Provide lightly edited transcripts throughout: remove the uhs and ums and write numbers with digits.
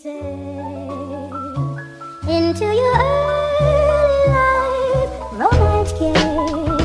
Into your early life, romance came,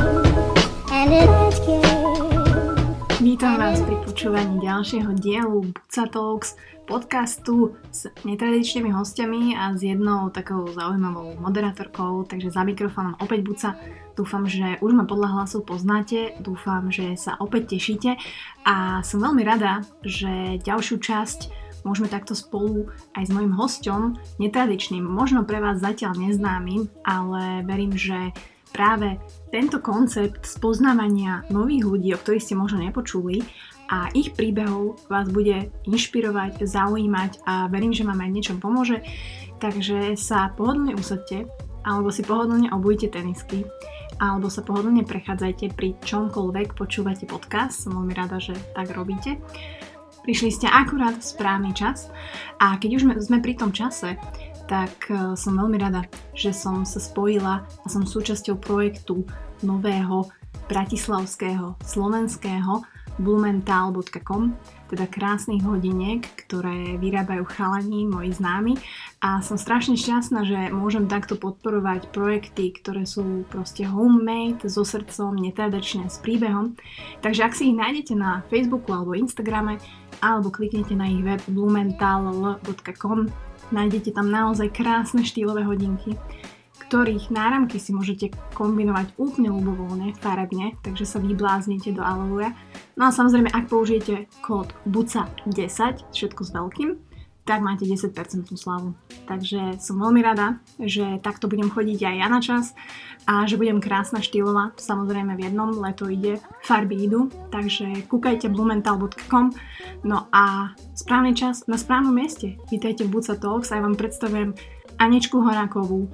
and it came. Vítam vás pri počúvaní ďalšieho dielu Buca Talks, podcastu s netradičnými hostiami a s jednou takou zaujímavou moderátorkou, takže za mikrofónom opäť Buca. Dúfam, že už ma podľa hlasu poznáte, dúfam, že sa opäť tešíte a som veľmi rada, že ďalšiu časť môžeme takto spolu aj s mojím hosťom, netradičným, možno pre vás zatiaľ neznámym, ale verím, že práve tento koncept spoznávania nových ľudí, o ktorých ste možno nepočuli, a ich príbehov vás bude inšpirovať, zaujímať a verím, že vám aj niečom pomôže. Takže sa pohodlne usadte, alebo si pohodlne obujte tenisky, alebo sa pohodlne prechádzajte pri čomkoľvek počúvate podcast. Som veľmi rada, že tak robíte. Prišli ste akurát v správny čas a keď už sme pri tom čase, tak som veľmi rada, že som sa spojila a som súčasťou projektu nového bratislavského, slovenského blumenthal.com, teda krásnych hodiniek, ktoré vyrábajú chalani, moji známi, a som strašne šťastná, že môžem takto podporovať projekty, ktoré sú proste homemade, so srdcom, netradičné, s príbehom. Takže ak si ich nájdete na Facebooku alebo Instagrame, alebo kliknete na ich web blumenthal.com, nájdete tam naozaj krásne štýlové hodinky, ktorých náramky si môžete kombinovať úplne ľubovoľne, farebne, takže sa vybláznite do aleluja. No a samozrejme, ak použijete kód BUCA10, všetko s veľkým, tak máte 10% slavu. Takže som veľmi rada, že takto budem chodiť aj ja na čas a že budem krásna, štýlová, samozrejme v jednom, leto ide, farby idú, takže kúkajte blumenthal.com. No a správny čas na správnom mieste. Vítajte v Buca Talks a ja vám predstavujem Aničku Horákovú,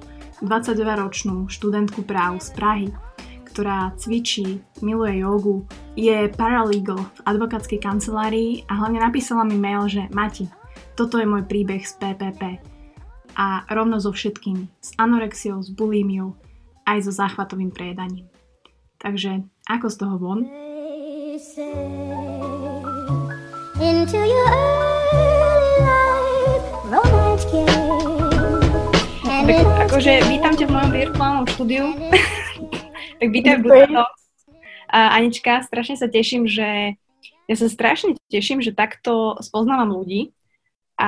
22-ročnú študentku práv z Prahy, ktorá cvičí, miluje jogu, je paralegal v advokátskej kancelárii a hlavne napísala mi mail, že Mati, toto je môj príbeh z PPP a rovno so všetkými, s anorexiou, s bulímiou, aj so záchvatovým prejedaním. Takže ako z toho von? Into your early life, romance came. Tak akože vítam ťa v mojom virtuálnom štúdiu. Tak vítam v Buca Talks. Anička, strašne sa teším, že že takto spoznávam ľudí a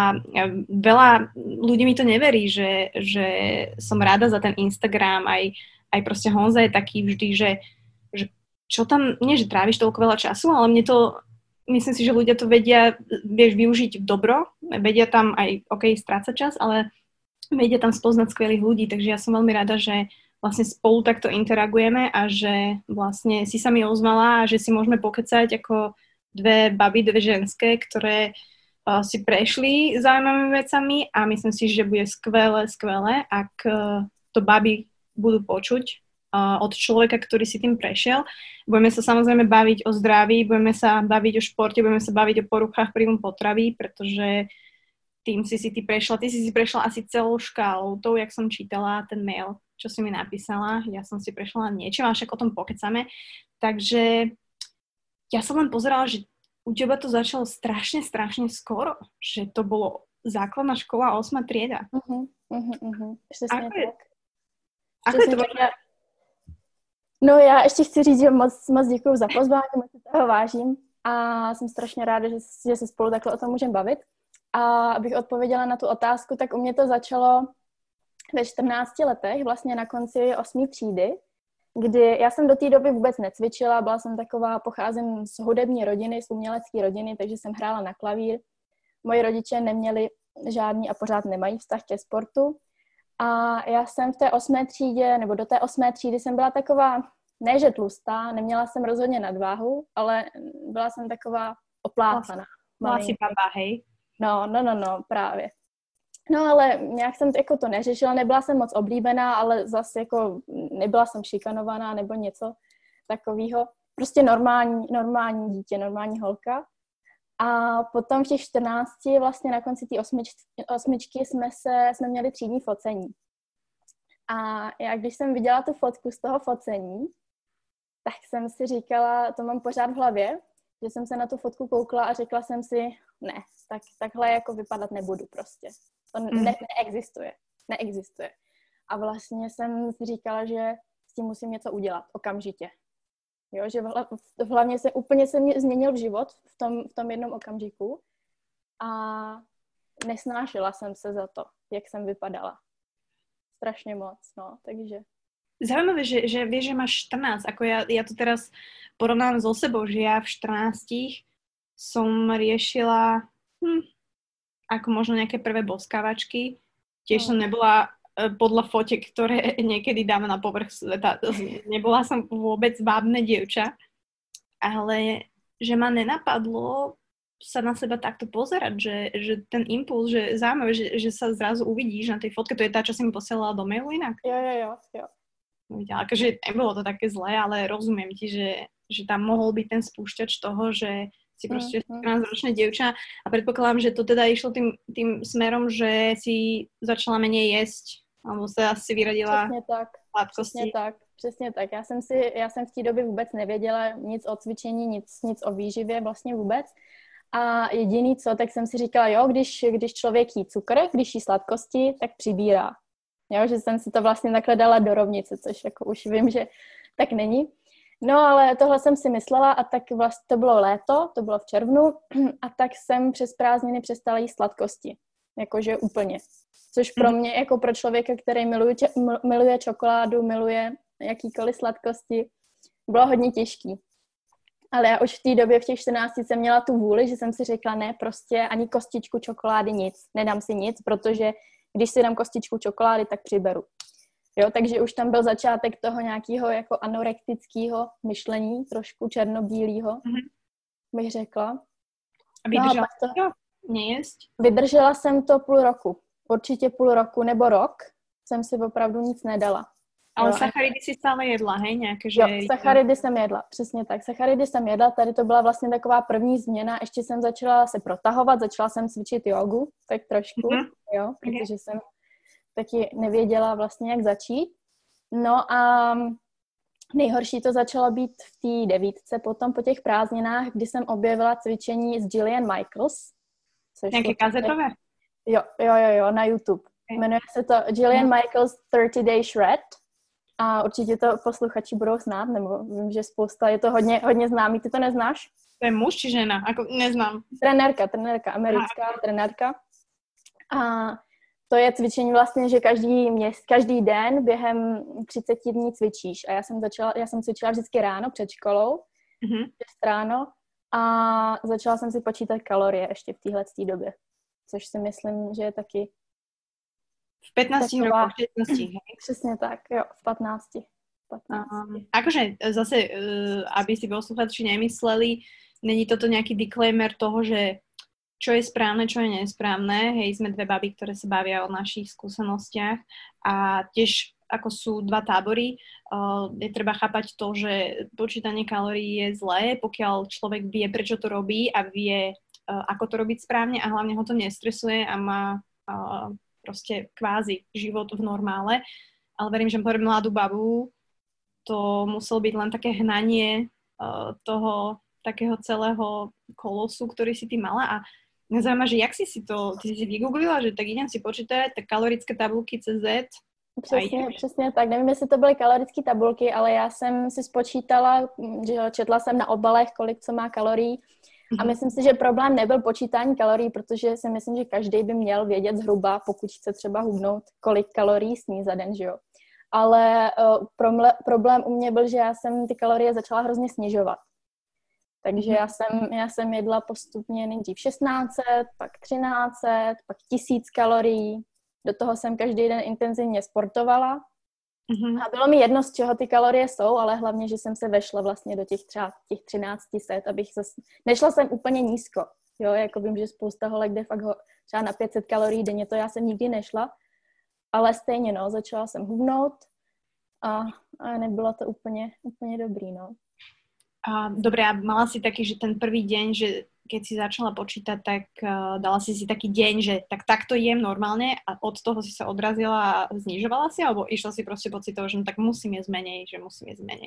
veľa ľudí mi to neverí, že som rada za ten Instagram, aj proste Honza je taký vždy, že čo tam, nie že tráviš toľko veľa času, ale myslím si, že ľudia to vedia, vieš, využiť dobro, vedia tam aj, strácať čas, ale vedia tam spoznať skvelých ľudí, takže ja som veľmi rada, že vlastne spolu takto interagujeme a že vlastne si sa mi ozvala a že si môžeme pokecať ako dve baby, dve ženské, ktoré si prešli zaujímavými vecami a myslím si, že bude skvelé, ak to baby budú počuť od človeka, ktorý si tým prešiel. Budeme sa samozrejme baviť o zdraví, budeme sa baviť o športe, budeme sa baviť o poruchách príjmu potravy, pretože tým ty si prešla asi celou škálou, tou, jak som čítala ten mail, čo si mi napísala. Ja som si prešla niečo, a však o tom pokecame. Takže ja som len pozerala, že u teba to začalo strašne skoro, že to bolo základná škola 8. trieda. Přesně tak. Ako je to? No já ještě chci říct, že moc děkuju za pozvání, moc si toho vážím a jsem strašně ráda, že se spolu takhle o tom můžeme bavit. A abych odpověděla na tu otázku, tak u mě to začalo ve 14 letech, vlastně na konci 8. třídy, kdy já jsem do té doby vůbec necvičila, byla jsem taková, pocházím z hudební rodiny, z umělecké rodiny, takže jsem hrála na klavír. Moji rodiče neměli žádný a pořád nemají vztah ke sportu. A já jsem v té 8. třídě, nebo do té 8. třídy jsem byla taková, ne že tlustá, neměla jsem rozhodně nadváhu, ale byla jsem taková oplácaná. Byla si baba, hej? No, právě. No ale nějak jsem jako to neřešila, nebyla jsem moc oblíbená, ale zase jako nebyla jsem šikanovaná nebo něco takového. Prostě normální dítě, normální holka. A potom v těch 14, vlastně na konci té osmičky jsme měli třídní focení. A já když jsem viděla tu fotku z toho focení, tak jsem si říkala, to mám pořád v hlavě, Že jsem se na tu fotku koukla a řekla jsem si, ne, takhle jako vypadat nebudu prostě. To neexistuje. A vlastně jsem si říkala, že s tím musím něco udělat okamžitě. Jo, že hlavně úplně se mě změnil život v tom jednom okamžiku a nesnášela jsem se za to, jak jsem vypadala. Strašně moc, no, takže... Zaujímavé, že vieš, že máš 14, ako ja to teraz porovnám so sebou, že ja v 14 som riešila ako možno nejaké prvé boskávačky. Tiež som nebola podľa fotiek, ktoré niekedy dávam na povrch sveta. Nebola som vôbec vábne dievča, ale že ma nenapadlo sa na seba takto pozerať, že ten impuls, že zaujímavé, že sa zrazu uvidíš na tej fotke, to je tá, čo si mi posielala do mailu inak? Jo. Akože nebolo to také zlé, ale rozumiem ti, že tam mohol byť ten spúšťač toho, že si proste 14-ročné dievča a predpokladám, že to teda išlo tým smerom, že si začala menej jesť, alebo sa asi vyradila sladkosti. Přesně tak. Já jsem v té době vůbec nevěděla nic o cvičení, nic o výživě vlastně vůbec. A jediný co, tak jsem si říkala, jo, když člověk jí cukr, když jí sladkosti, tak přibírá. Jo, že jsem si to vlastně takhle dala do rovnice, což jako už vím, že tak není. No ale tohle jsem si myslela a tak vlastně to bylo léto, to bylo v červnu a tak jsem přes prázdniny přestala jíst sladkosti. Jakože úplně. Což pro mě, jako pro člověka, který miluje čokoládu, miluje jakýkoliv sladkosti, bylo hodně těžký. Ale já už v té době, v těch 14 jsem měla tu vůli, že jsem si řekla, ne, prostě ani kostičku čokolády nic, nedám si nic, protože když si dám kostičku čokolády, tak přiberu. Jo, takže už tam byl začátek toho nějakého jako anorektického myšlení, trošku černobílého, bych řekla. A vydržela to nejesť? Vydržela jsem to půl roku. Určitě půl roku nebo rok jsem si opravdu nic nedala. Ale sacharidy si stále jedla, hej? Nějaké, že... Jo, sacharidy jsem jedla, přesně tak. Sacharidy jsem jedla, tady to byla vlastně taková první změna. Ještě jsem začala se protahovat, začala jsem cvičit jogu, tak trošku, jo, protože jsem taky nevěděla vlastně, jak začít. No a nejhorší to začalo být v té 9, potom po těch prázdninách, kdy jsem objevila cvičení s Jillian Michaels. Nějaké kazetové? Jo, na YouTube. Jmenuje se to Jillian Michaels 30 Day Shred. A určitě to posluchači budou znát, nebo vím, že spousta, je to hodně známý. Ty to neznáš? To je muž či žena? Ako neznám. Trenérka, americká trenérka. A to je cvičení vlastně, že každý den během 30 dní cvičíš. A já jsem cvičila vždycky ráno před školou, 6 ráno, a začala jsem si počítat kalorie ještě v téhleté době. Což si myslím, že je taky v 15 rokoch, 16, hej? Přesně tak, jo, v 15. Akože zase, aby si posluchači nemysleli, není toto nejaký disclaimer toho, že čo je správne, čo je nesprávne. Hej, sme dve baby, ktoré sa bavia o našich skúsenostiach a tiež ako sú dva tábory, je treba chápať to, že počítanie kalórií je zlé, pokiaľ človek vie, prečo to robí a vie, ako to robiť správne a hlavne ho to nestresuje a má proste kvázi život v normále, ale verím, že pre mladú babu to muselo byť len také hnanie toho takého celého kolosu, ktorý si ty mala a mňa zaujíma, že jak si to, ty si vygooglila, že tak idem si počítať, tak kalorické tabulky CZ. Přesně tak, nevím, jestli to byly kalorické tabulky, ale já jsem si spočítala, že četla jsem na obalech, kolik co má kalorií. A myslím si, že problém nebyl počítání kalorií, protože si myslím, že každý by měl vědět zhruba, pokud chce třeba hubnout, kolik kalorií sní za den, že jo. Ale problém u mě byl, že já jsem ty kalorie začala hrozně snižovat. Takže já jsem jedla postupně nejdřív 1600, pak 1300, pak 1000 kalorií. Do toho jsem každý den intenzivně sportovala. A bylo mi jedno, z čeho ty kalorie jsou, ale hlavně, že jsem se vešla vlastně do těch třeba těch 1300, abych nešla jsem úplně nízko, jo, jako vím, že spousta holek jde fakt třeba na 500 kalorií denně, to já jsem nikdy nešla, ale stejně, no, začala jsem hubnout a nebylo to úplně dobrý, no. Dobre, a mala si taký, že ten prvý deň, že keď si začala počítať, tak dala si taký deň, že takto jem normálne a od toho si sa odrazila a znižovala si, alebo išla si proste pocitovo, že no tak musím jesť menej, že musím jesť menej?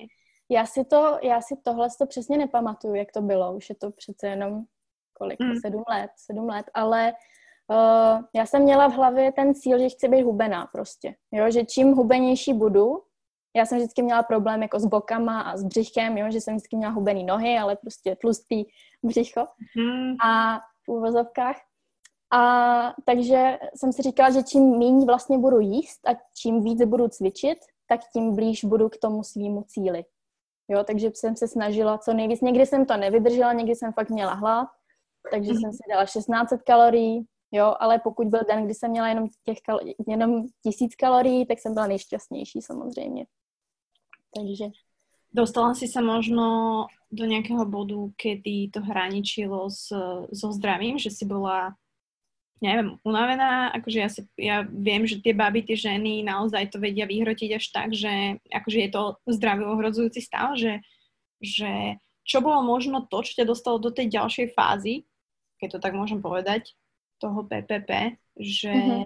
Já si tohle to přesně nepamatuju, jak to bylo. Už je to přece jenom 7 let, ale já jsem měla v hlavě ten cíl, že chci být hubená prostě. Jo, že čím hubenější budu, já jsem vždycky měla problém jako s bokama a s břichem, jo, že jsem vždycky měla hubený nohy, ale prostě tlustý břicho a v úvozovkách. A takže jsem si říkala, že čím méně vlastně budu jíst a čím víc budu cvičit, tak tím blíž budu k tomu svýmu cíli. Jo, takže jsem se snažila co nejvíc. Někdy jsem to nevydržela, někdy jsem fakt měla hlad, takže jsem si dala 1600 kalorií, jo, ale pokud byl den, kdy jsem měla jenom 1000 kalorií, tak jsem byla nejšťastnější samozřejmě. Takže... Dostala si sa možno do nejakého bodu, kedy to hraničilo so zdravím, že si bola, neviem, unavená, akože ja viem, že tie baby, tie ženy naozaj to vedia vyhrotiť až tak, že akože je to zdravý ohrozujúci stav, že čo bolo možno to, čo ťa dostalo do tej ďalšej fázy, keď to tak môžem povedať, toho PPP, že...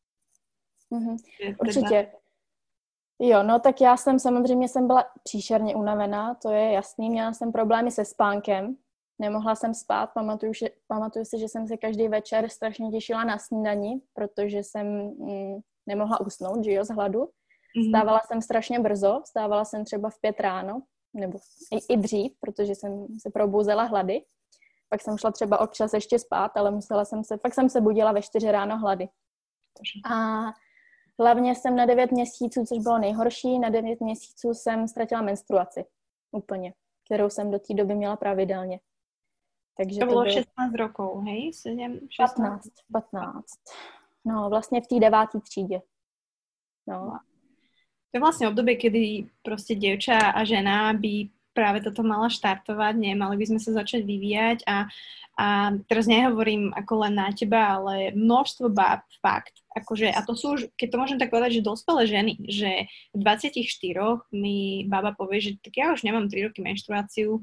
Určitě. Jo, no tak já samozřejmě byla příšerně unavená, to je jasný, měla jsem problémy se spánkem, nemohla jsem spát, pamatuju si, že jsem se každý večer strašně těšila na snídani, protože jsem nemohla usnout, že jo, z hladu. Vstávala jsem strašně brzo, vstávala jsem třeba v 5 ráno, nebo i dřív, protože jsem se probouzela hlady. Pak jsem šla třeba občas ještě spát, ale fakt jsem se budila ve 4 ráno hlady. A hlavně jsem na 9 měsíců, což bylo nejhorší, na 9 měsíců jsem ztratila menstruaci. Úplně. Kterou jsem do té doby měla pravidelně. Takže to bylo 16 rokov, hej? 15. No, vlastně v té 9. třídě. No. To je vlastne obdobie, kedy proste dievča a žena by práve toto mala štartovať, mali by sme sa začať vyvíjať a teraz nehovorím ako len na teba, ale množstvo báb, fakt. Akože, a to sú už, keď to môžem tak povedať, že dospelé ženy, že v 24 mi baba povie, že tak ja už nemám 3 roky menštruáciu.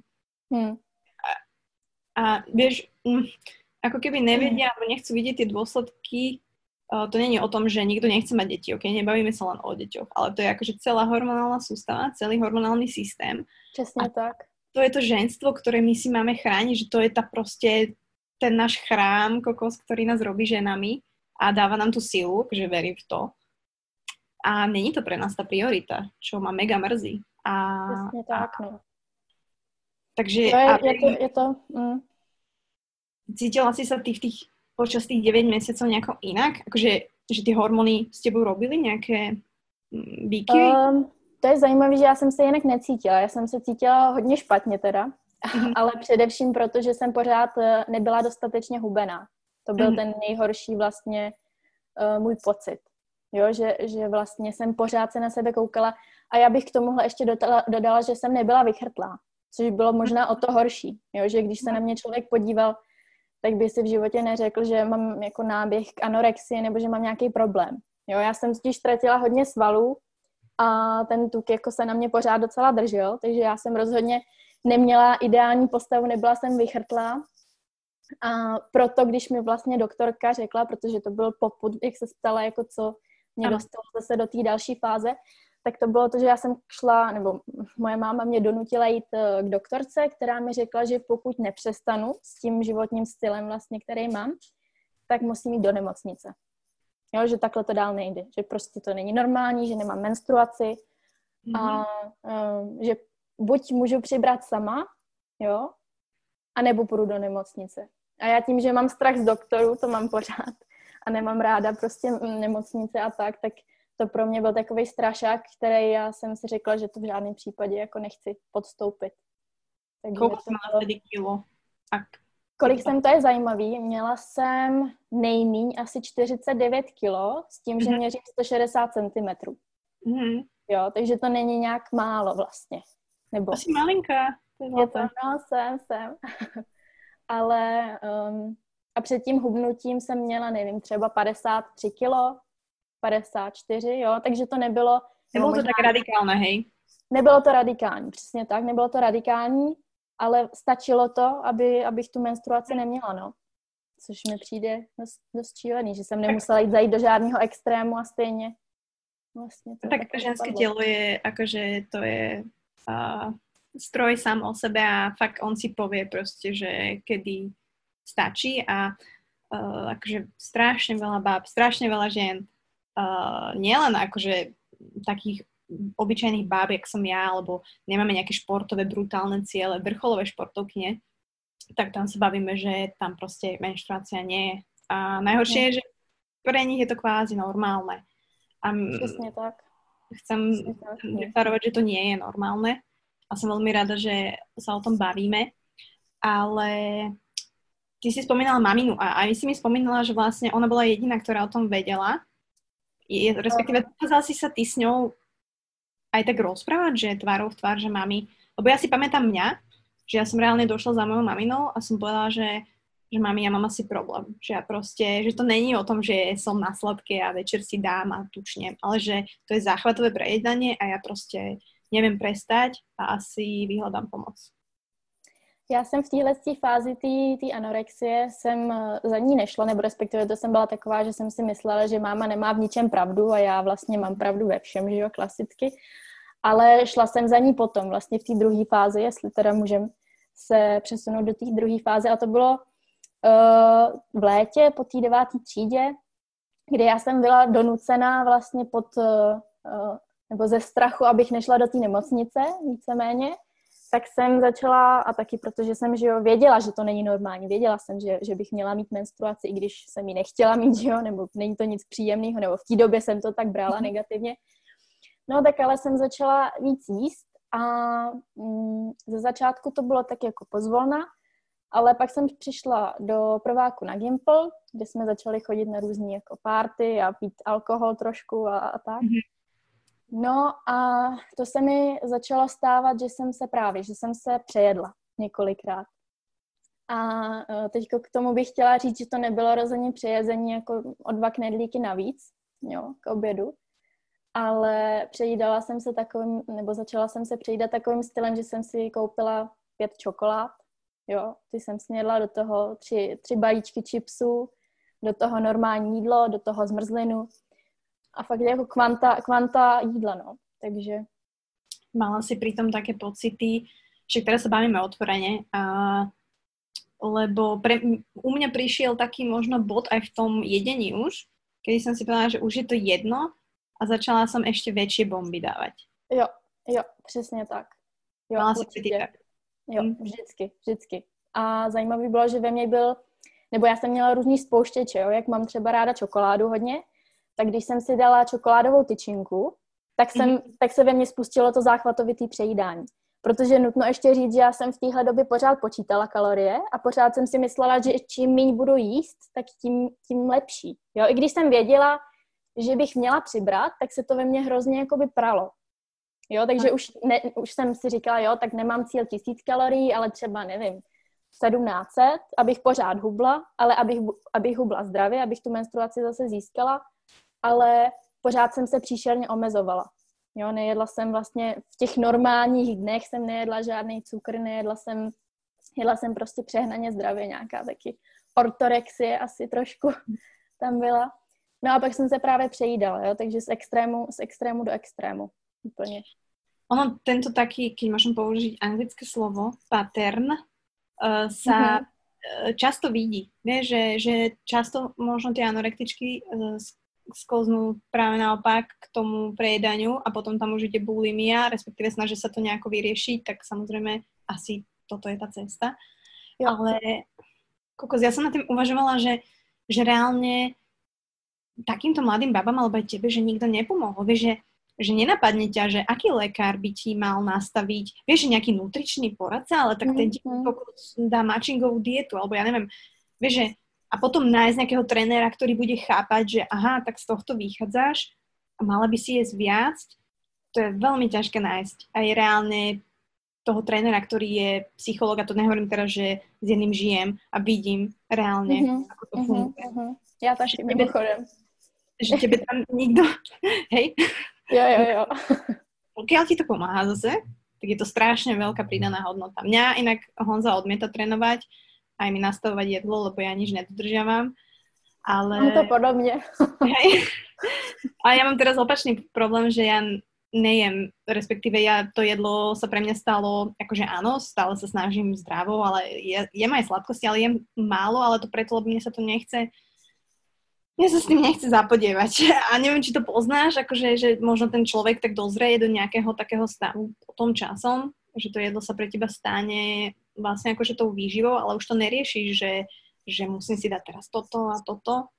A vieš, ako keby nevedia, alebo nechcú vidieť tie dôsledky. To nie je o tom, že nikto nechce mať deti, ok? Nebavíme sa len o deťoch, ale to je akože celá hormonálna sústava, celý hormonálny systém. Přesně tak. To je to ženstvo, ktoré my si máme chrániť, že to je ten náš chrám, kokos, ktorý nás robí ženami a dáva nám tú silu, že verím v to. A není to pre nás tá priorita, čo ma mega mrzí. Přesně tak, no. Takže... Je to. Cítila si sa počas tých 9 mesiacov nejako inak? Akože, že ty hormony s tebou robili nejaké výkyvy? To je zajímavé, že já jsem se jinak necítila. Já jsem se cítila hodně špatně teda, ale především proto, že jsem pořád nebyla dostatečně hubená. To byl ten nejhorší vlastně můj pocit. Jo, že vlastně jsem pořád se na sebe koukala a já bych k tomuhle ještě dodala, že jsem nebyla vychrtlá, což bylo možná o to horší. Jo, že když se na mě člověk podíval, tak by si v životě neřekl, že mám jako náběh k anorexii nebo že mám nějaký problém. Jo, já jsem totiž ztratila hodně svalů a ten tuk jako se na mě pořád docela držel, takže já jsem rozhodně neměla ideální postavu, nebyla jsem vychrtlá. A proto, když mi vlastně doktorka řekla, protože to byl popud, jak se ptala, jako co mě dostalo zase do té další fáze, tak to bylo to, že já jsem šla, nebo moje máma mě donutila jít k doktorce, která mi řekla, že pokud nepřestanu s tím životním stylem vlastně, který mám, tak musím jít do nemocnice. Jo, že takhle to dál nejde, že prostě to není normální, že nemám menstruaci a že buď můžu přibrat sama, jo, anebo půjdu do nemocnice. A já tím, že mám strach z doktorů, to mám pořád a nemám ráda prostě nemocnice a tak to pro mě byl takový strašák, který já jsem si řekla, že to v žádném případě jako nechci podstoupit. Kolik jsi měla tedy kilo? Kolik jsem, to je zajímavý. Měla jsem nejmíň asi 49 kilo s tím, že měřím 160 cm. Jo, takže to není nějak málo vlastně. Nebo... Asi malinká. Je to, no, jsem. Ale a před tím hubnutím jsem měla, nevím, třeba 53 kilo, 54, jo, takže to nebylo... Nebylo to tak radikálne, hej? Nebylo to radikální, přesně tak, nebylo to radikální, ale stačilo to, abych tu menstruaci neměla, no. Což mi přijde dost šílený, že jsem nemusela jít zajít do žádného extrému a stejně vlastně to... Tak to ženské tělo je, akože to je stroj sám o sebe a fakt on si povie proste, že kedy stačí a akože strašne veľa báb, strašne veľa žien, nielen akože takých obyčajných báb, jak som ja, alebo nemáme nejaké športové, brutálne ciele, vrcholové športovkyne, tak tam sa bavíme, že tam proste menštruácia nie je. A najhoršie je, že pre nich je to kvázi normálne. A Přesně tak. chcem deklarovať, že to nie je normálne. A som veľmi rada, že sa o tom bavíme. Ale ty si spomínala maminu a aj si mi spomínala, že vlastne ona bola jediná, ktorá o tom vedela. Respektíve, dokázala si sa ty s ňou aj tak rozprávať, že tvárou v tvár, že mami... Lebo ja si pamätám mňa, že ja som reálne došla za mojou maminou a som povedala, že mami, ja mám asi problém. Že ja proste, že to není o tom, že som na sladké a večer si dám a tučnem, ale že to je záchvatové prejedanie a ja proste neviem prestať a asi vyhľadám pomoc. Já jsem v téhle fázi té anorexie jsem za ní nešla, nebo respektive to jsem byla taková, že jsem si myslela, že máma nemá v ničem pravdu a já vlastně mám pravdu ve všem, že jo, klasicky. Ale šla jsem za ní potom, vlastně v té druhé fázi, jestli teda můžem se přesunout do té druhé fáze. A to bylo v létě po té 9. třídě, kdy já jsem byla donucená vlastně nebo ze strachu, abych nešla do té nemocnice, víceméně, tak jsem začala, a taky protože jsem, že jo, věděla, že to není normální, věděla jsem, že bych měla mít menstruaci, i když jsem ji nechtěla mít, že jo, nebo není to nic příjemného, nebo v té době jsem to tak brala negativně. No tak ale jsem začala víc jíst a ze začátku to bylo tak jako pozvolna, ale pak jsem přišla do prváku na Gimpl, kde jsme začali chodit na různý jako party a pít alkohol trošku a tak. No a to se mi začalo stávat, že jsem se přejedla několikrát. A teďko k tomu bych chtěla říct, že to nebylo rozhodně přejezení jako o 2 knedlíky navíc, jo, k obědu, ale přejídala jsem se začala jsem se přejídat takovým stylem, že jsem si koupila 5 čokolád, jo, ty jsem snědla, do toho 3 balíčky chipsů, do toho normální jídlo, do toho zmrzlinu a fakt jako kvanta jídla, no, takže. Mala si pritom také pocity, že teraz sa bavíme otvorene, lebo u mňa prišiel taký možno bod aj v tom jedení už, kedy som si povedala, že už je to jedno a začala som ešte väčšie bomby dávať. Jo, přesně tak. Jo, mala si pocity tak. Jo, vždycky. A zajímavý bylo, že ve mně nebo já jsem měla různý spouštěče, jo, jak mám třeba ráda čokoládu hodně, tak když jsem si dala čokoládovou tyčinku, tak se ve mně spustilo to záchvatovitý přejídání. Protože nutno ještě říct, že já jsem v téhle době pořád počítala kalorie a pořád jsem si myslela, že čím méně budu jíst, tak tím lepší. Jo, i když jsem věděla, že bych měla přibrat, tak se to ve mně hrozně jakoby pralo. Jo, takže už jsem si říkala, jo, tak nemám cíl 1000 kalorií, ale třeba, nevím, 1700, abych pořád hubla, ale abych hubla zdravě, abych tu menstruaci zase získala, ale pořád jsem se příšerně omezovala. Jo, nejedla jsem vlastně v těch normálních dnech, jsem nejedla žádný cukr, jedla jsem prostě přehnaně zdravě, nějaká taky ortorexie asi trošku tam byla. No a pak jsem se právě přejídala, jo, takže z extrému do extrému. Úplne. Ono, tento taký, keď môžem použiť anglické slovo, pattern, sa často vidí. Vieš, že často možno tie anorektičky sklznú práve naopak k tomu prejedaniu a potom tam už ide bulimia, respektíve snažia sa to nejako vyriešiť, tak samozrejme asi toto je tá cesta. Jo. Ale kokos, ja som na tým uvažovala, že reálne takýmto mladým babám alebo aj tebe, že nikto nepomohol. Vieš, že nenapadne ťa, že aký lekár by ti mal nastaviť, vieš, že nejaký nutričný poradca, ale tak ten ti dá matchingovú dietu, alebo ja neviem, vieš, že a potom nájsť nejakého trénera, ktorý bude chápať, že aha, tak z tohto vychádzaš a mala by si jesť viac, to je veľmi ťažké nájsť. A je reálne toho trénera, ktorý je psychológ, a to nehovorím teraz, že s jedným žijem a vidím reálne, ako to funguje. Ja taky mimochodem. Že tebe tam nikto, hej? Jo. Pokiaľ ti to pomáha zase, tak je to strašne veľká pridaná hodnota. Mňa inak Honza odmieta trénovať, aj mi nastavovať jedlo, lebo ja nič nedodržiavam. Ale... Mám to podobne. Hej. A ja mám teraz opačný problém, že ja nejem, respektíve ja to jedlo sa pre mňa stalo, akože áno, stále sa snažím zdravo, ale jem aj sladkosti, ale jem málo, ale to preto, lebo mne sa s tým nechce zapodievať. A neviem, či to poznáš, akože, že možno ten človek tak dozrie do nejakého takého stavu tom časom, že to jedlo sa pre teba stane vlastne akože tou výživou, ale už to neriešiš, že musím si dať teraz toto a toto.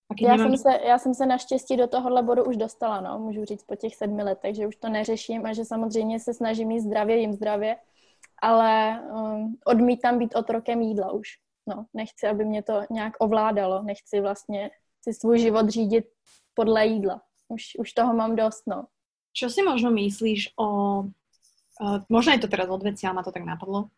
Já jsem se naštěstí do tohohle bodu už dostala, no, můžu říct po těch 7 letech, že už to neřeším a že samozřejmě se snažím jít zdravě, jím zdravě, ale odmítám být otrokem jídla už. No, nechci, aby mě to nějak ovládalo, nechci vlastně si svůj život řídit podle jídla. Už toho mám dost, no. Čo si možno myslíš o, možno je to teraz odveci, ale ma to tak napadlo,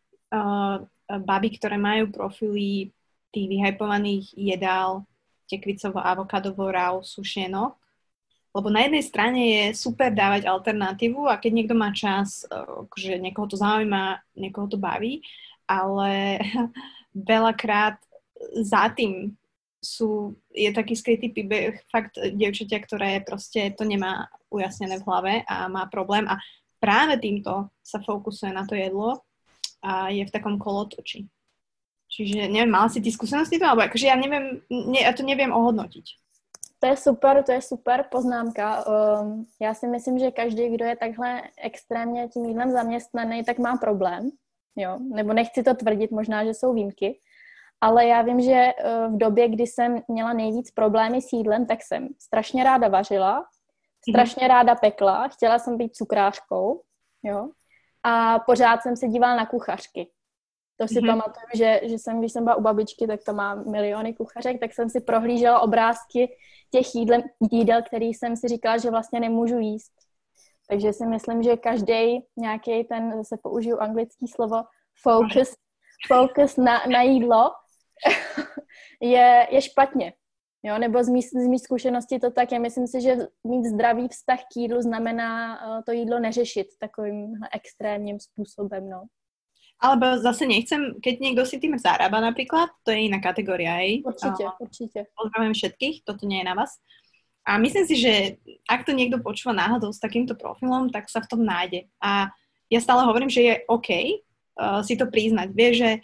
baby, ktoré majú profily tých vyhypovaných jedál, tekvicovo, avokadovo, raw, sušenok. Lebo na jednej strane je super dávať alternatívu a keď niekto má čas, že niekoho to zaujíma, niekoho to baví, ale veľakrát za tým je taký skrytý príbeh fakt dievčatia, ktoré proste to nemá ujasnené v hlave a má problém a práve týmto sa fokusuje na to jedlo a je v takom kolotoči. Čiže neviem, mala si ty skúsenosti to? Alebo akože ja neviem, ja to neviem ohodnotiť. To je super poznámka. Já si myslím, že každý, kdo je takhle extrémně tím jídlem zaměstnaný, tak má problém. Jo? Nebo nechci to tvrdit, možná, že jsou výjimky. Ale já vím, že v době, kdy jsem měla nejvíc problémy s jídlem, tak jsem strašně ráda vařila, strašně ráda pekla, chtěla jsem být cukrářkou, jo? A pořád jsem se dívala na kuchařky. To si pamatuju, že když jsem byla u babičky, tak to má miliony kuchařek, tak jsem si prohlížela obrázky těch jídel, který jsem si říkala, že vlastně nemůžu jíst. Takže si myslím, že každý nějaký ten, zase použiju anglické slovo, focus na jídlo je špatně. Jo? Nebo z mý zkušenosti to tak je. Myslím si, že mít zdravý vztah k jídlu znamená to jídlo neřešit takovým extrémním způsobem. No. Alebo zase nechcem, keď niekto si tým zarába napríklad, to je iná kategória, hej? Určite. Pozdravujem všetkých, toto nie je na vás. A myslím si, že ak to niekto počúva náhodou s takýmto profilom, tak sa v tom nájde. A ja stále hovorím, že je OK si to priznať. Vieš, že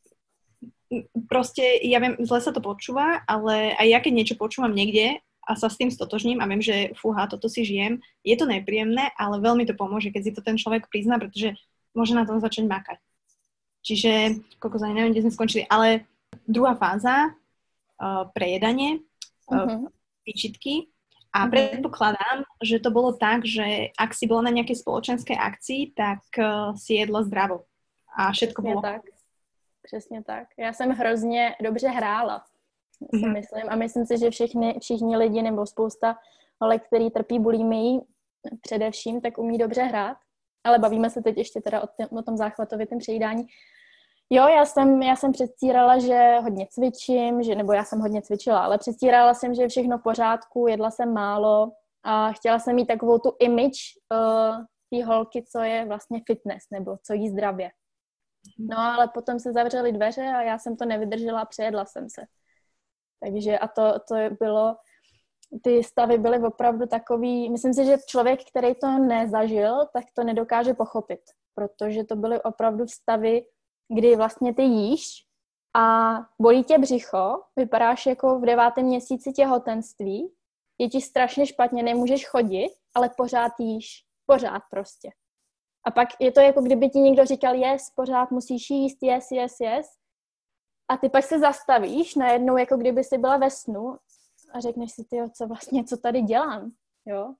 proste, ja viem, zle sa to počúva, ale aj ja keď niečo počúvam niekde a sa s tým stotožním a viem, že fúha, toto si žijem, je to nepríjemné, ale veľmi to pomôže, keď si to ten človek prizná, pretože môže na tom začať makať. Čiže, neviem, kde sme skončili, ale druhá fáza, prejedanie, výčitky a predpokladám, že to bolo tak, že ak si bola na nejakej spoločenskej akcii, tak si jedla zdravo a všetko bolo. Tak. Přesně tak. Já jsem hrozně dobře hrála, si myslím. A myslím si, že všichni lidi nebo spousta holek, který trpí bulimií především, tak umí dobře hrát. Ale bavíme se teď ještě teda o tom záchvatovitém přejídání. Jo, já jsem předstírala, že hodně cvičím, nebo já jsem hodně cvičila, ale předstírala jsem, že je všechno v pořádku, jedla jsem málo a chtěla jsem mít takovou tu image té holky, co je vlastně fitness, nebo co jí zdravě. No ale potom se zavřely dveře a já jsem to nevydržela a přejedla jsem se. Takže a to bylo, ty stavy byly opravdu takový, myslím si, že člověk, který to nezažil, tak to nedokáže pochopit, protože to byly opravdu stavy, kdy vlastně ty jíš a bolí tě břicho, vypadáš jako v 9. měsíci těhotenství, je ti strašně špatně, nemůžeš chodit, ale pořád jíš, pořád prostě. A pak je to jako kdyby ti někdo říkal, pořád musíš jíst, yes. A ty pak se zastavíš najednou, jako kdyby jsi byla ve snu a řekneš si, co tady dělám, jo?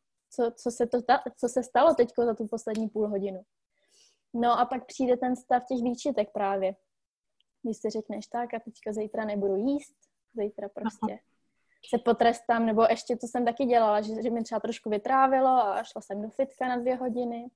Co se stalo teďko za tu poslední půl hodinu. No a pak přijde ten stav těch výčitek právě. Když si řekneš tak a teďka zítra nebudu jíst, zítra prostě se potrestám, nebo ještě to jsem taky dělala, že mi třeba trošku vytrávilo a šla jsem do fitka na 2 hodiny.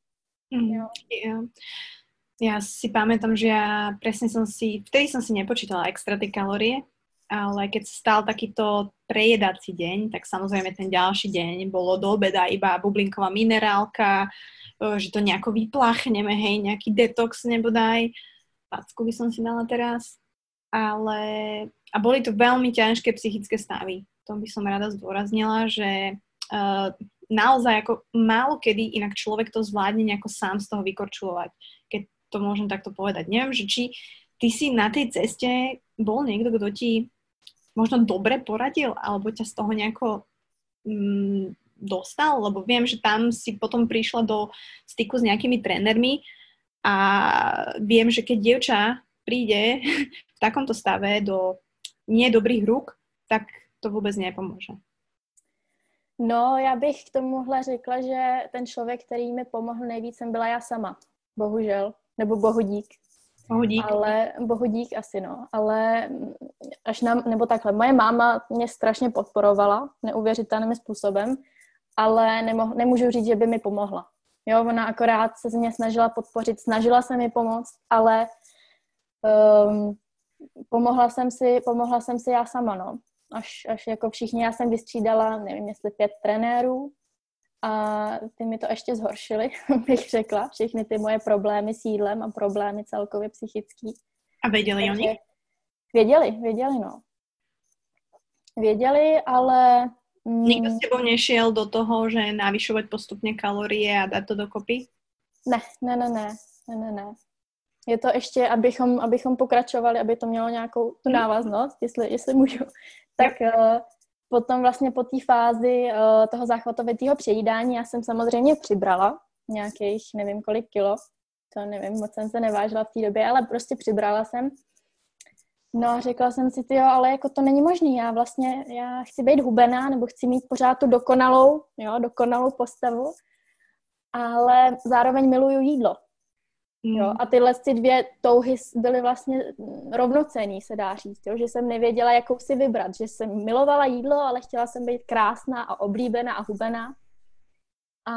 Ja si pamätám, že ja presne vtedy som si nepočítala extra tie kalórie, ale keď sa stal takýto prejedací deň, tak samozrejme ten ďalší deň bolo do obeda iba bublinková minerálka, že to nejako vypláchneme, hej, nejaký detox nebodaj, packu by som si dala teraz, a boli to veľmi ťažké psychické stavy. To by som rada zdôraznila, že naozaj ako málo kedy inak človek to zvládne nejako sám z toho vykorčulovať, keď to môžem takto povedať. Neviem, že či ty si na tej ceste bol niekto, kto ti možno dobre poradil, alebo ťa z toho nejako dostal, lebo viem, že tam si potom prišla do styku s nejakými trénermi a viem, že keď dievča príde v takomto stave do nedobrých rúk, tak to vůbec nepomůže. No, já bych k tomuhle řekla, že ten člověk, který mi pomohl nejvíc, jsem byla já sama. Bohužel. Nebo bohudík. Bohudík. Ale bohudík asi, no. Ale nebo takhle. Moje máma mě strašně podporovala, neuvěřitelným způsobem, ale nemůžu říct, že by mi pomohla. Jo, ona akorát se z mě snažila podpořit, snažila se mi pomoct, ale pomohla jsem si já sama, no. Až jako všichni, já jsem vystřídala, nevím, jestli 5 trenérů a ty mi to ještě zhoršily, bych řekla, všechny ty moje problémy s jídlem a problémy celkově psychický. A věděli o nich? Věděli, no. Věděli, ale... Nikdo s tebou nešiel do toho, že navyšovať postupne kalórie a dať to dokopy? Ne. Je to ještě, abychom pokračovali, aby to mělo nějakou tu návaznost, jestli můžu. Tak potom vlastně po té fázi toho záchvatovitého přejídání já jsem samozřejmě přibrala nějakých nevím kolik kilo. To nevím, moc jsem se nevážila v té době, ale prostě přibrala jsem. No a řekla jsem si, ale jako to není možný, já chci být hubená, nebo chci mít pořád tu dokonalou postavu, ale zároveň miluju jídlo. Jo, a tyhle dvě touhy byly vlastně rovnocenný, se dá říct, jo, že jsem nevěděla, jakou si vybrat, že jsem milovala jídlo, ale chtěla jsem být krásná a oblíbená a hubená. A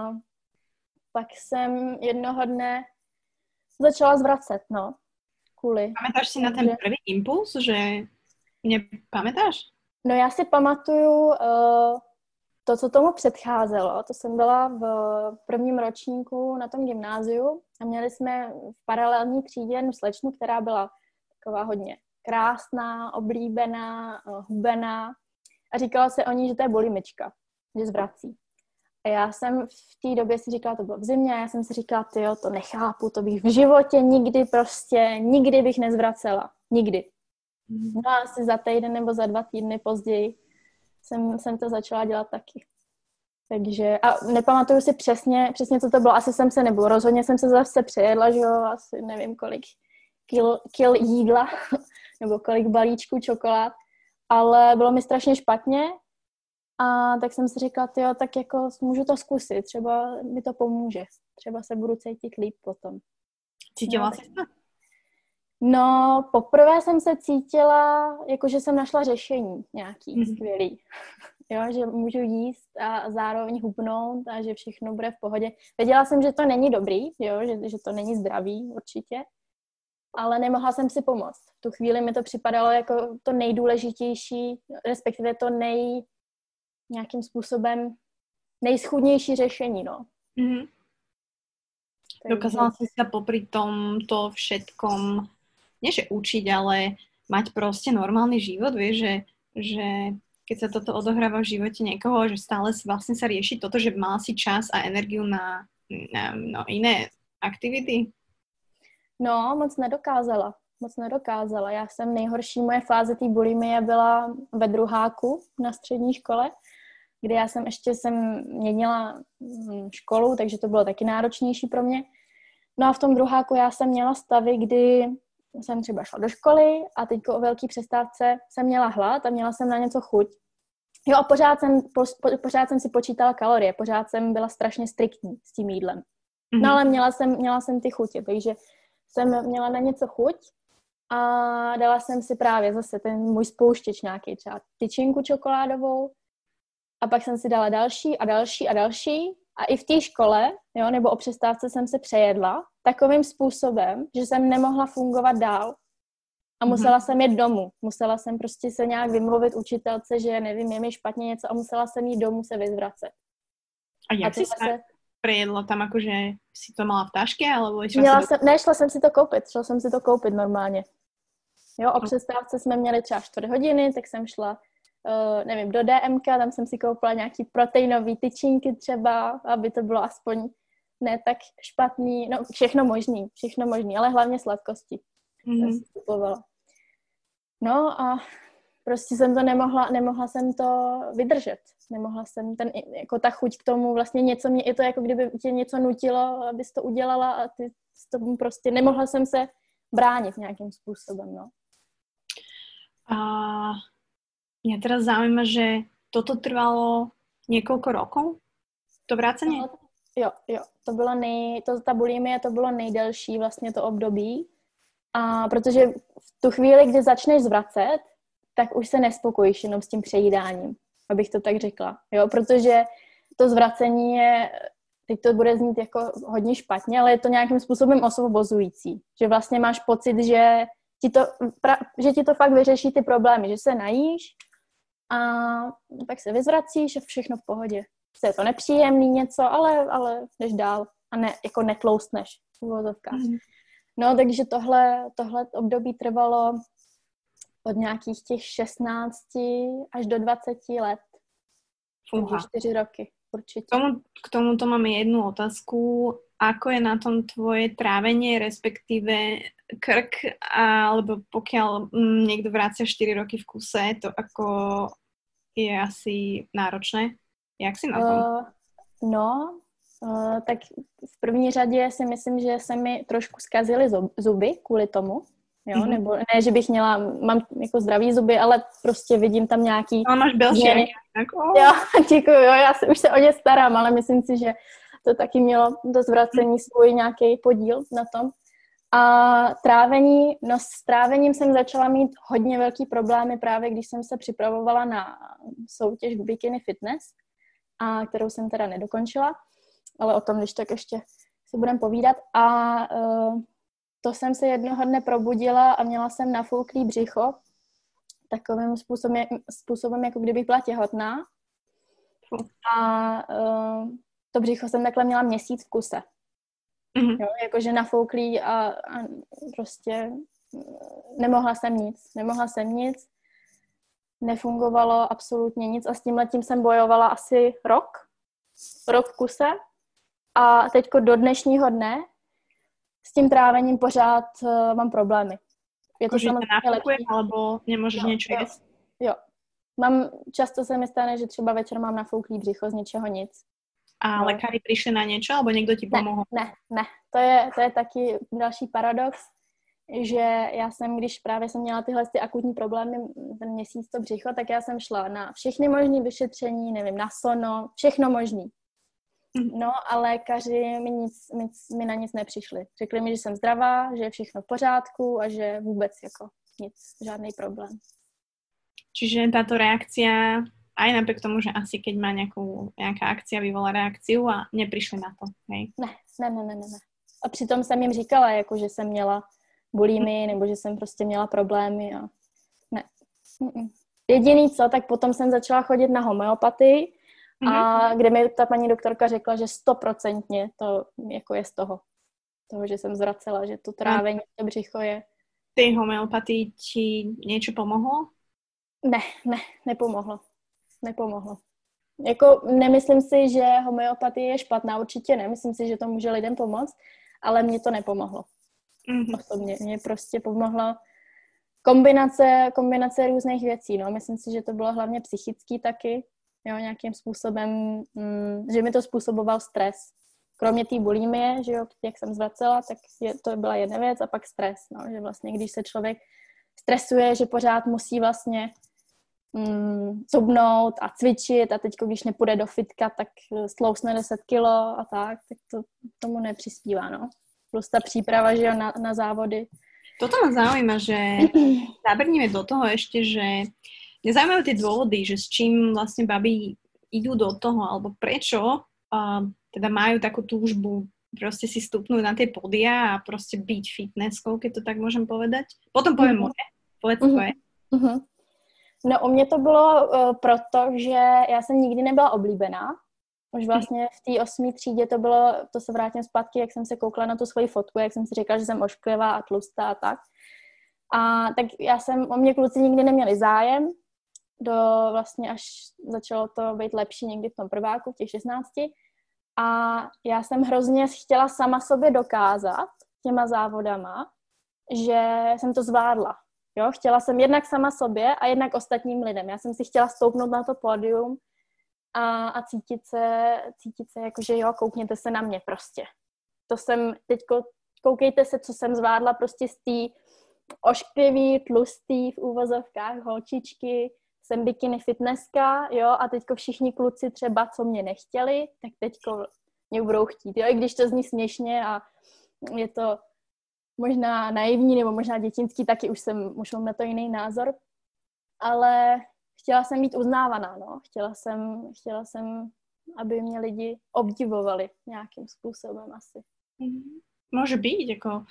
pak jsem jednoho dne začala zvracet, no. Pamätáš si na ten prvý impuls, že nepamätáš? No já si pamatuju to, co tomu předcházelo. To jsem byla v prvním ročníku na tom gymnáziu a měli jsme v paralelní třídě jednu slečnu, která byla taková hodně krásná, oblíbená, hubená a říkala se o ní, že to je bulimička, že zvrací. A já jsem v té době si říkala, to bylo v zimě, a já jsem si říkala, to nechápu, to bych v životě nikdy bych nezvracela. Nikdy. No a asi za týden nebo za 2 týdny později jsem to začala dělat taky. Takže, a nepamatuju si přesně, co to bylo, rozhodně jsem se zase přejedla, že jo, asi nevím kolik kil jídla, nebo kolik balíčků čokolád, ale bylo mi strašně špatně. A tak jsem si říkala, tak jako můžu to zkusit, třeba mi to pomůže. Třeba se budu cítit líp potom. Cítila jsi to? No, poprvé jsem se cítila, jako že jsem našla řešení nějaký skvělý. Jo, že můžu jíst a zároveň hubnout a že všechno bude v pohodě. Věděla jsem, že to není dobrý, jo, že to není zdravý určitě, ale nemohla jsem si pomoct. V tu chvíli mi to připadalo jako to nejdůležitější, respektive to nějakým způsobem nejschudnější řešení, no. Mm-hmm. Dokázala si sa popri tomto všetkom, nie že učiť, ale mať proste normálny život, vieš, že keď sa toto odohráva v živote niekoho, že stále vlastne sa rieši toto, že mal si čas a energiu na iné aktivity? No, moc nedokázala. Já jsem nejhorší, moje fáze té bulimie byla ve druháku na střední škole, kde já jsem měnila školu, takže to bylo taky náročnější pro mě. No a v tom druháku já jsem měla stavy, kdy jsem třeba šla do školy a teďko o velký přestávce jsem měla hlad a měla jsem na něco chuť. Jo a pořád jsem si počítala kalorie, pořád jsem byla strašně striktní s tím jídlem. No ale měla jsem ty chutě, takže jsem měla na něco chuť a dala jsem si právě zase ten můj spouštěč nějaký, třeba tyčinku čokoládovou a pak jsem si dala další a další a další a i v té škole, jo, nebo o přestávce jsem se přejedla takovým způsobem, že jsem nemohla fungovat dál a musela jsem jít domů. Musela jsem prostě se nějak vymluvit učitelce, že nevím, je mi špatně něco a musela jsem jít domů se vyzvracet. A jak si se prejedla tam, akože si to mala v taške, alebo šla jsem si to koupit normálně. Jo, o přestávce jsme měli třeba 4 hodiny, tak jsem šla nevím, do DMka, tam jsem si koupila nějaký proteinový tyčinky třeba, aby to bylo aspoň ne tak špatný, no všechno možný, ale hlavně sladkosti. Jsem si kupovala. No a prostě jsem to nemohla jsem to vydržet. Nemohla jsem jako ta chuť k tomu, vlastně něco mě, je to jako kdyby tě něco nutilo, abys to udělala a ty s tomu prostě nemohla jsem se bránit nějakým způsobem, no. A mňa teraz zaujíma, že toto trvalo niekoľko rokov? To vrácenie? No, jo, to bylo ta bulimie, to bylo nejdelší vlastně to období. A protože v tu chvíli, kdy začneš zvracet, tak už se nespokojíš jenom s tím přejídáním, abych to tak řekla. Jo, protože to zvracení je, teď to bude znít jako hodně špatně, ale je to nějakým způsobem osvobozující. Že vlastně máš pocit, že ti to fakt vyřeší ty problémy, že se najíš a tak se vyzvracíš a všechno v pohodě. Je to nepříjemný něco, ale jdeš dál a jako netloustneš v uvozovkách. No, takže tohle období trvalo od nějakých těch 16 až do 20 let. Takže 4 roky určite. K tomuto mám jednu otázku. Ako je na tom tvoje trávenie, respektíve krk, alebo pokiaľ niekto vracia 4 roky v kuse, to ako je asi náročné? Jak si na tom? Tak v první řadě si myslím, že se mi trošku zkazily zuby kvůli tomu. Jo, nebo ne, že bych mám jako zdravý zuby, ale prostě vidím tam nějaký... Ale máš belšie. Jo, děkuju, já už se o ně starám, ale myslím si, že to taky mělo do zvracení svůj nějaký podíl na tom. A trávení, s trávením jsem začala mít hodně velký problémy právě, když jsem se připravovala na soutěž Bikini Fitness, kterou jsem teda nedokončila, ale o tom, když tak ještě si budem povídat. A to jsem se jednoho dne probudila a měla jsem nafouklý břicho takovým způsobem, jako kdybych byla těhotná. A to břicho jsem takhle měla měsíc v kuse. Jo, jakože nafouklý a prostě nemohla jsem nic. Nefungovalo absolutně nic a s tímhletím jsem bojovala asi rok v kuse. A teďko do dnešního dne s tím trávením pořád mám problémy. Je to samozřejmě lepší. Alebo nemůžeš něco jíst? Jo. Často se mi stane, že třeba večer mám nafouklý břicho z ničeho nic. A lékaři přišli na něco, alebo někdo ti pomohl? Ne. To je taky další paradox, že já jsem, když právě jsem měla tyhle akutní problémy, ten měsíc to břicho, tak já jsem šla na všechny možné vyšetření, nevím, na sono, všechno možný. No a lékaři mi na nic nepřišli. Řekli mi, že jsem zdravá, že je všechno v pořádku a že vůbec jako nic, žádný problém. Čiže táto reakcia, aj napriek tomu, že asi keď má nejaká akcia vyvolá reakciu a neprišli na to, hej? Ne. A přitom jsem jim říkala, jako, že jsem měla bulimii nebo že jsem prostě měla problémy a ne. Jediný co, tak potom jsem začala chodit na homeopatii, a kde mi ta paní doktorka řekla, že 100% to jako je z toho, že jsem zvracela, že to trávení, to břicho je. Tej homeopatii ti niečo pomohlo? Ne, nepomohlo. Jako nemyslím si, že homeopatie je špatná, určitě ne, myslím si, že to může lidem pomoct, ale mně to nepomohlo. Osobně, mně prostě pomohla kombinace různých věcí, no, myslím si, že to bylo hlavně psychický taky, jo, nějakým způsobem, že mi to způsoboval stres. Kromě té bulimie, že jo, jak jsem zvracela, tak to byla jedna věc a pak stres, no, že vlastně když se člověk stresuje, že pořád musí vlastně zubnout a cvičit a teď, když nepůjde do fitka, tak stlousne 10 kilo a tak to tomu nepřispívá, no. Plus ta příprava, že jo, na závody. Toto ma zaujíma, že zabrníme do toho ešte, že mňa zaujímajú tie dôvody, že s čím vlastne baby idú do toho, alebo prečo teda majú takú túžbu proste si stupnúť na tie pódia a proste byť fitnesskou, keď to tak môžem povedať. Potom poviem moje. Povedz tvoje. No u mě to bylo proto, že já jsem nikdy nebyla oblíbená. Už vlastně v té 8. třídě to se vrátím zpátky, jak jsem se koukla na tu svoji fotku, jak jsem si říkala, že jsem ošklivá a tlustá a tak. A tak o mě kluci nikdy neměli zájem vlastně až začalo to být lepší někdy v tom prváku, v těch 16. A já jsem hrozně chtěla sama sobě dokázat těma závodama, že jsem to zvládla. Jo? Chtěla jsem jednak sama sobě a jednak ostatním lidem. Já jsem si chtěla stoupnout na to pódium a cítit se jako, že jo, koukněte se na mě prostě. To jsem teďko, koukejte se, co jsem zvládla prostě z té ošklivý, tlustý v úvozovkách holčičky, jsem bikini fitnesska, jo, a teďko všichni kluci třeba, co mě nechtěli, tak teďko mě budou chtít, jo, i když to zní směšně a je to možná naivní nebo možná dětinský, taky už mám na to jiný názor, ale chtěla jsem být uznávaná, no, chtěla jsem, aby mě lidi obdivovali nějakým způsobem asi. Môže byť, ako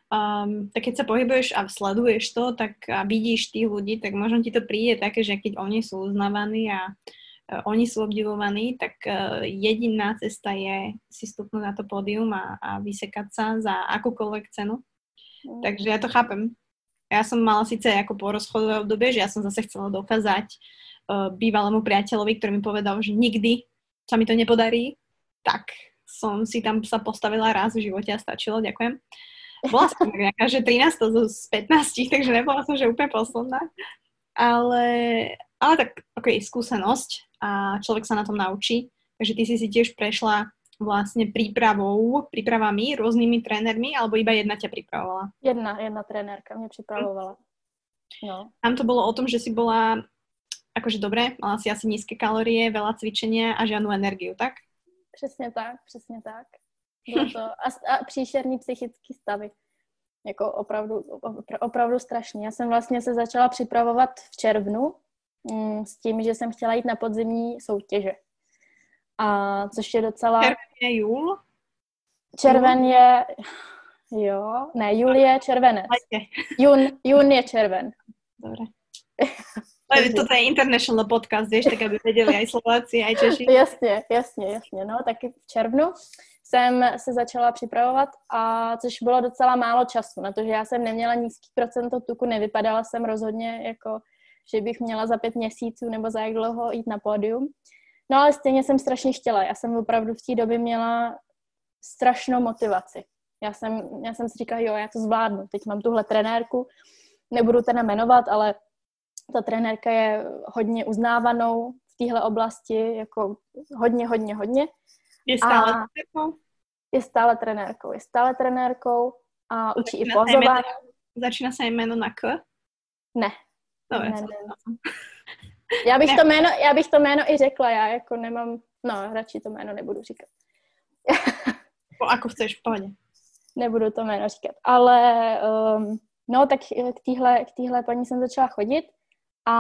tak keď sa pohybuješ a sleduješ to, tak a vidíš tých ľudí, tak možno ti to príde také, že keď oni sú uznávaní a oni sú obdivovaní, tak jediná cesta je si stupnúť na to pódium a vysekať sa za akúkoľvek cenu. Takže ja to chápem. Ja som mala síce ako porozchodové obdobie, že ja som zase chcela dokázať bývalému priateľovi, ktorý mi povedal, že nikdy sa mi to nepodarí, tak som si tam sa postavila raz v živote a stačilo, ďakujem. Bola som nejaká, že 13 z 15, takže nebola som, že úplne posledná. Ale tak, skúsenosť a človek sa na tom naučí. Takže ty si tiež prešla vlastne prípravami, rôznymi trénermi, alebo iba jedna ťa pripravovala? Jedna trénerka mňa pripravovala. No. Tam to bolo o tom, že si bola akože dobre, mala si asi nízke kalórie, veľa cvičenia a žiadnu energiu, tak? Přesně tak. Bylo to a příšerný psychický stavy. Jako opravdu strašný. Já jsem vlastně se začala připravovat v červnu s tím, že jsem chtěla jít na podzimní soutěže. A což je docela... Červen je júl? Červen je... Jo, ne, júl je červenec. Jún je červen. Dobre. Toto je international podcast, vieš, tak aby vedeli aj Slováci, aj Češi. Jasně. No, taky v červnu jsem se začala připravovat, a což bylo docela málo času, na to, že já jsem neměla nízký procento tuku, nevypadala jsem rozhodně jako, že bych měla za 5 měsíců nebo za jak dlouho jít na pódium. No ale stejně jsem strašně chtěla. Já jsem opravdu v té době měla strašnou motivaci. Já jsem si říkala, jo, já to zvládnu. Teď mám tuhle trenérku, nebudu teda jmenovat, ale ta trenérka je hodně uznávanou v téhle oblasti, jako hodně. Je stále trenérkou? Je stále trenérkou a učí i pozování. Začíná se jméno na K? Ne. Dobre, ne. Já bych to jméno i řekla, já jako nemám, no radši to jméno nebudu říkat. Ako chceš, v pohodě. Nebudu to jméno říkat, ale no tak k téhle paní jsem začala chodit a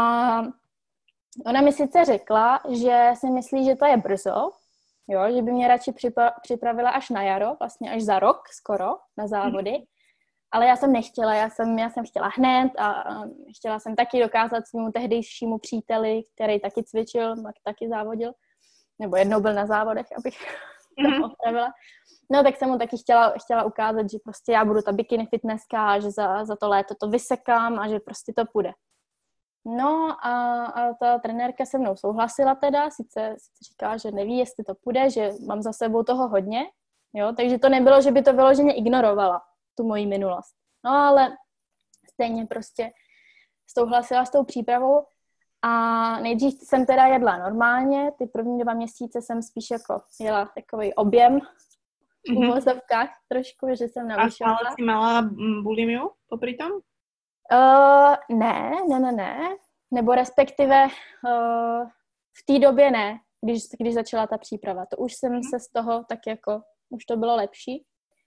ona mi sice řekla, že si myslí, že to je brzo, jo, že by mě radši připravila až na jaro, vlastně až za rok skoro na závody, ale já jsem nechtěla, já jsem chtěla hned a chtěla jsem taky dokázat svému tehdejšímu příteli, který taky cvičil, taky závodil, nebo jednou byl na závodech, abych to opravila. No tak jsem mu taky chtěla ukázat, že prostě já budu ta bikini fitnesska a že za to léto to vysekám a že prostě to půjde. No a ta trenérka se mnou souhlasila teda, sice říkala, že neví, jestli to půjde, že mám za sebou toho hodně, jo, takže to nebylo, že by to vyloženě ignorovala, tu moji minulost. No ale stejně prostě souhlasila s tou přípravou a nejdřív jsem teda jedla normálně, ty první 2 měsíce jsem spíš jako jela takový objem v uvozovkách trošku, že jsem navyšovala. A stále si mala bulimiu popri tom? Ne. Nebo respektive v té době ne, když začala ta příprava. To už jsem se z toho tak jako, už to bylo lepší.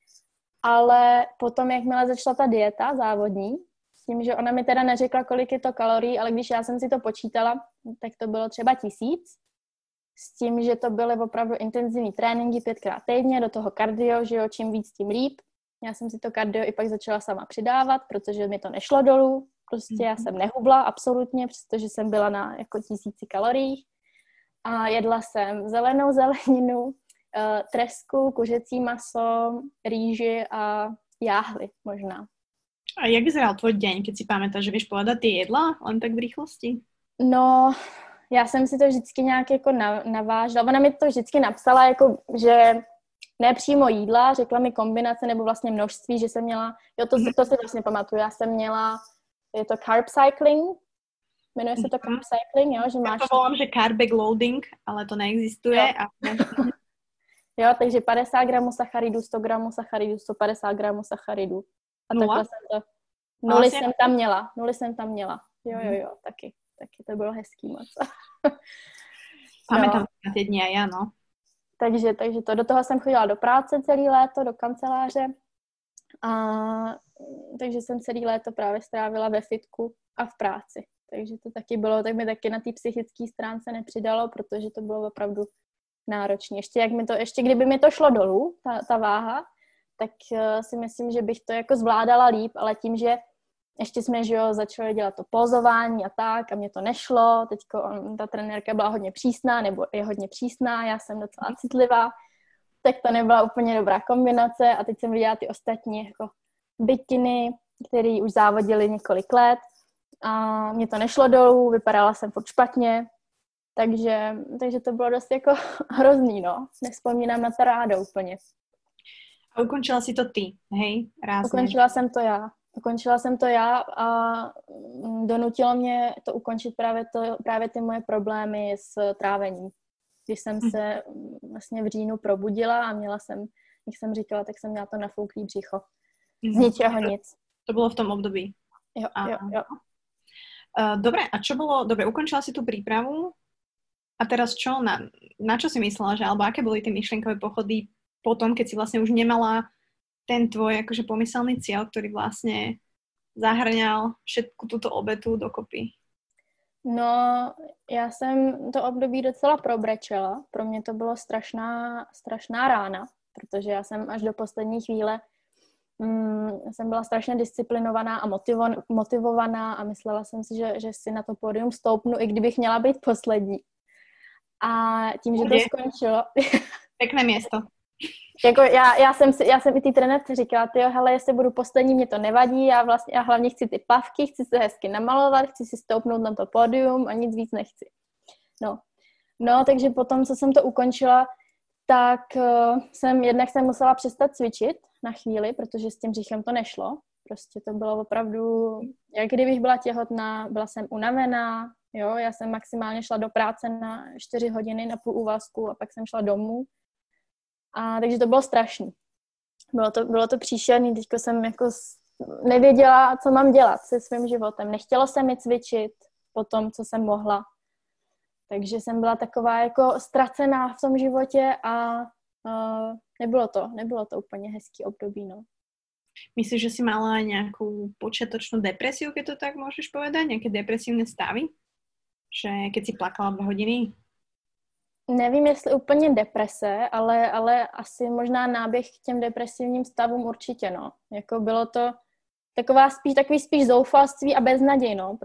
Ale potom, jakmile začala ta dieta závodní, s tím, že ona mi teda neřekla, kolik je to kalorií, ale když já jsem si to počítala, tak to bylo třeba 1000. S tím, že to byly opravdu intenzivní tréninky 5krát týdně, do toho kardio, že jo, čím víc, tím líp. Já jsem si to kardio i pak začala sama přidávat, protože mi to nešlo dolů. Prostě já jsem nehubla absolutně, přestože jsem byla na jako 1000 kaloriích. A jedla jsem zelenou zeleninu, tresku, kuřecí maso, rýži a jáhly možná. A jak vyzeral tvoj deň, keď si pamätáš, že vieš povedať tie jedlá len tak v rýchlosti? No, já jsem si to vždycky nějak jako navážela. Ona mi to vždycky napsala, jako, že ne přímo jídla, řekla mi kombinace nebo vlastně množství, že jsem měla, jo, to si vlastně pamatuju, já jsem měla, je to carb cycling, jmenuje se to carb cycling, jo, že máš... Já to volám, že carb loading, ale to neexistuje. Jo, takže 50 gramů sacharidů, 100 gramů sacharidů, 150 gramů sacharidů. A Nula? takhle jsem to... Nuly jsem tam měla. Jo, taky to bylo hezký moc. Pamätám na tie dni a ja, no. Takže to, do toho jsem chodila do práce celý léto, do kanceláře. A takže jsem celý léto právě strávila ve fitku a v práci. Takže to taky bylo, tak mi taky na té psychické stránce nepřidalo, protože to bylo opravdu náročné. Ještě kdyby mi to šlo dolů, ta váha, tak si myslím, že bych to jako zvládala líp, ale tím, že ještě jsme, že jo, začali dělat to pózování a tak a mě to nešlo, teďko ta trenérka byla hodně přísná, nebo je hodně přísná, já jsem docela citlivá, tak to nebyla úplně dobrá kombinace a teď jsem viděla ty ostatní jako bikiny, který už závodili několik let a mě to nešlo dolů, vypadala jsem furt špatně, takže to bylo dost jako hrozný, no. Nevzpomínám na to rádo úplně. A ukončila si to ty, hej? Rázne. Ukončila jsem to já a donutilo mě to ukončit právě ty moje problémy s trávením. Když jsem se vlastně v říjnu probudila a měla jsem, jak jsem říkala, tak jsem měla to nafouklý břicho. Z ničeho nic. To bylo v tom období. Jo. Dobre, a čo bolo? Dobre, ukončila si tú prípravu a teraz čo? Na čo si myslela, že alebo aké boli tie myšlienkové pochody potom, keď si vlastne už nemala ten tvoj akože pomyselný cieľ, ktorý vlastne zahrňal všetku túto obetu dokopy? No, já jsem to období docela probrečela. Pro mě to bylo strašná rána, protože já jsem až do poslední chvíle jsem byla strašně disciplinovaná a motivovaná a myslela jsem si, že si na to pódium stoupnu, i kdybych měla být poslední. A tím, že to skončilo... Pekné město. Jako já jsem i té trenérce říkala, hele, jestli budu poslední, mě to nevadí, já hlavně chci ty plavky, chci se hezky namalovat, chci si stoupnout na to pódium a nic víc nechci. No, takže potom, co jsem to ukončila, tak jsem musela přestat cvičit na chvíli, protože s tím břichem to nešlo. Prostě to bylo opravdu, jak kdybych byla těhotná, byla jsem unavená, jo, já jsem maximálně šla do práce na 4 hodiny na půl úvazku a pak jsem šla domů. A takže to bylo strašný. Bylo to příšerný, teďko jsem jako nevěděla, co mám dělat se svým životem. Nechtělo se mi cvičit po tom, co jsem mohla. Takže jsem byla taková jako ztracená v tom životě a nebylo to úplně hezký období, no. Myslíš, že si mala nejakú počiatočnú depresiu, keď to tak môžeš povedať? Nejaké depresívne stavy? Že keď si plakala 2 hodiny? Nevím, jestli úplně deprese, ale asi možná náběh k těm depresivním stavům určitě, no. Jako bylo to takový spíš zoufalství a beznaděj, no,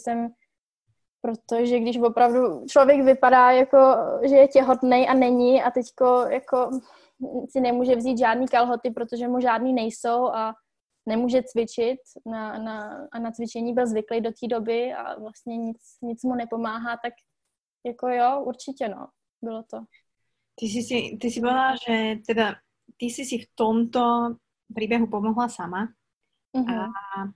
protože když opravdu člověk vypadá jako, že je těhotnej a není a teďko jako si nemůže vzít žádný kalhoty, protože mu žádný nejsou a nemůže cvičit na cvičení byl zvyklý do té doby a vlastně nic mu nepomáhá, tak jako jo, určitě, no. Bylo to. Ty si povedala, že teda ty si v tomto príbehu pomohla sama a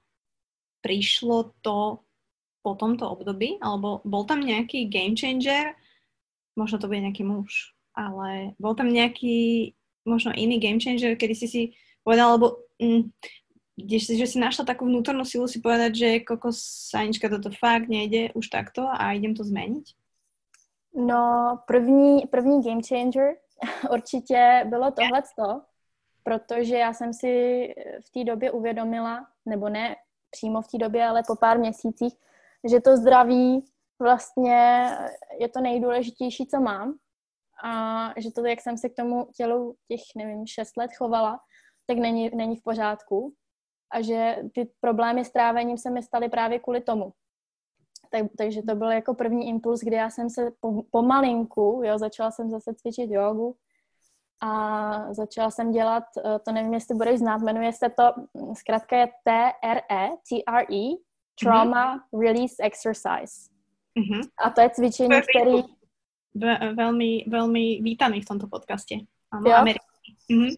prišlo to po tomto období, alebo bol tam nejaký game changer, možno to bude nejaký muž, ale bol tam nejaký možno iný game changer, kedy si povedala, alebo že si našla takú vnútornú silu si povedať, že kokos, Anička, toto fakt nejde už takto a idem to zmeniť? No, první game changer určitě bylo tohleto, protože já jsem si v té době uvědomila, nebo ne přímo v té době, ale po pár měsících, že to zdraví vlastně je to nejdůležitější, co mám. A že to, jak jsem se k tomu tělu těch, 6 let chovala, tak není v pořádku. A že ty problémy s trávením se mi staly právě kvůli tomu. Takže to byl jako první impuls, kdy já jsem se pomalinku, začala jsem zase cvičit jogu a začala jsem dělat, to nevím, jestli budeš znát, jmenuje se to, zkrátka je TRE, Trauma Release Exercise. A to je cvičení, který... Veľmi vítaný v tomto podcaste. Áno, Jo? Americký.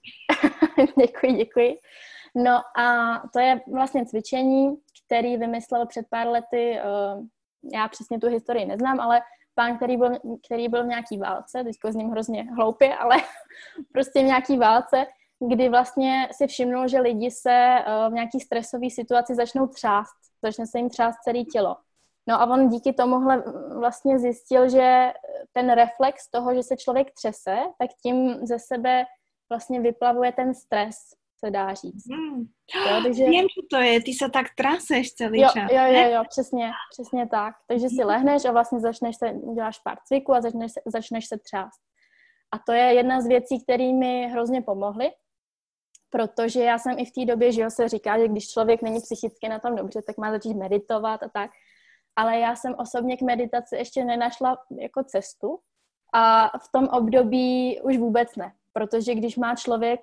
Děkuji. No a to je vlastně cvičení, který vymyslel před pár lety, já přesně tu historii neznám, ale pán, který byl v nějaký válce, teďko zním hrozně hloupě, ale prostě v nějaký válce, kdy vlastně si všimnul, že lidi se v nějaký stresové situaci začnou třást, začne se jim třást celé tělo. No a on díky tomuhle vlastně zjistil, že ten reflex toho, že se člověk třese, tak tím ze sebe vlastně vyplavuje ten stres, se dá říct. Jo, takže... Viem, čo to je, ty sa tak traseš celý čas. Jo, přesně tak. Takže si lehneš a vlastně děláš pár cviků a začneš se třást. A to je jedna z věcí, které mi hrozně pomohly, protože já jsem i v té době, že se říká, že když člověk není psychicky na tom dobře, tak má začít meditovat a tak. Ale já jsem osobně k meditaci ještě nenašla jako cestu a v tom období už vůbec ne. Protože když má člověk